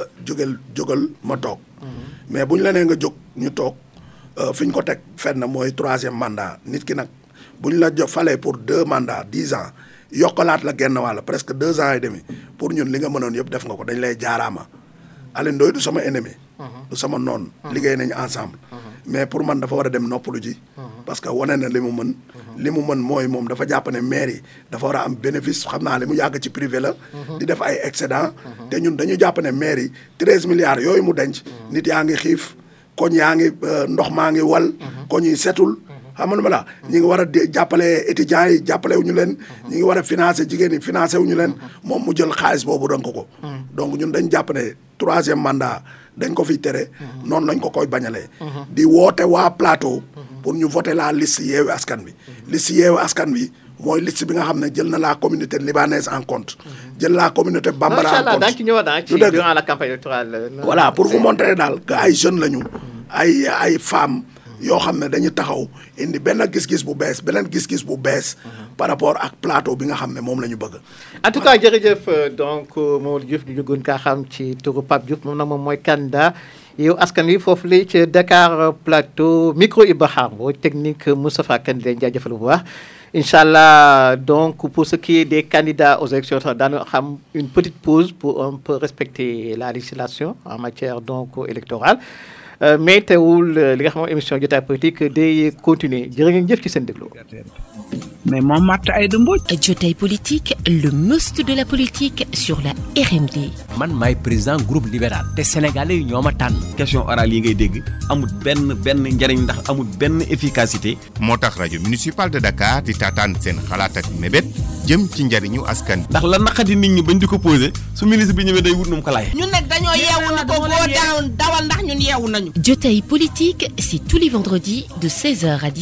jógal ma toog. mais bu ñu la nee nga jóg ñu toog fi ñu ko teg fenn mooy 3e mandat nit ki nag. bu ñu la falee pour 2 mandats 10 ans yokkalaat la genn wàll presque 2 ans et demi pour ñun li nga mënoon yëpp def nga ko dañ lay jaaraama Alioune Ndoye du sama ennemi. du sama noon liggéey nañu ensemble. mais pour man dafa war a dem noppalu ji. parce que wane na li mu mën. li mu mën mooy moom dafa jàpp ne maire yi dafa war a am bénéfice xam naa li mu yàgg ci privé la. di def ay excédent. te ñun dañu jàpp ne maire yi 13 milliards yooyu mu denc. nit yaa ngi xiif koñ yaa ngi ndox maa ngi wal. koñ yi setul. xam nga la ñi ngi war a jàppale étudiants yi jàppale wu ñu leen. ñi ngi war a financer jigéen yi financer wu ñu leen. moom mu jël xaalis boobu donc ko. donc ñun dañ jàpp ne 3e mandat dañ ko fiy tere. noonu lañ ko koy bañalee. di woote waa plateau. pour ñu voter la liste Yewwi Askan Wi. liste Yewwi Askan Wi mooy liste bi nga xam ne jël na la communauté libanaise en compte. jël la communauté bambara en compte. daañu ci ñëwaat durant la campagne électorale. voilà pour vous montrer daal que ay jeunes lañu. ay femmes. yoo xam ne dañu taxaw indi benn gis-gis bu bees beneen gis-gis bu bees. par rapport ak plateau bi nga xam ne moom la ñu bëgg. en tout cas jërëjëf donc Mamadou Diouf ñu gën kaa xam ci turu Pape Diouf moom nag moom mooy candidat Yewwi Askan Wi foofu la ci Dakar Plateau micro Iba Khar Mbodj technique Moustapha Kane di leen jaajëfal bu baax. incha allah donc pour ce qui est des candidats aux élections daanu xam une petite pause pour un peu respecter la législation en matière donc électorale. mais teewul li nga xam émission jotaay politique day continuer jërë ngeen jëf ci seen déglu. mais moom Martha Aïda Mbodj. Jotaay politique le must de la politique sur la RMD. man maay président groupe libéral te sénégalais yi ñoo ma tànn. question orale yi ngay dégg amul benn njariñ ndax amul benn efficacité. moo tax rajo municipal de Dakar di taataan seen xalaat ak mébét jëm ci njariñu askan. ndax la naqadi nit ñi bañ di ko posé su ministre bi ñëwee day wut nu mu ko laaj. ñun nag dañoo yeewu ni ko boo dawal ndax ñun yeewu nañu. Jotaay politique, c'est tous les vendredis de 16h à 17h.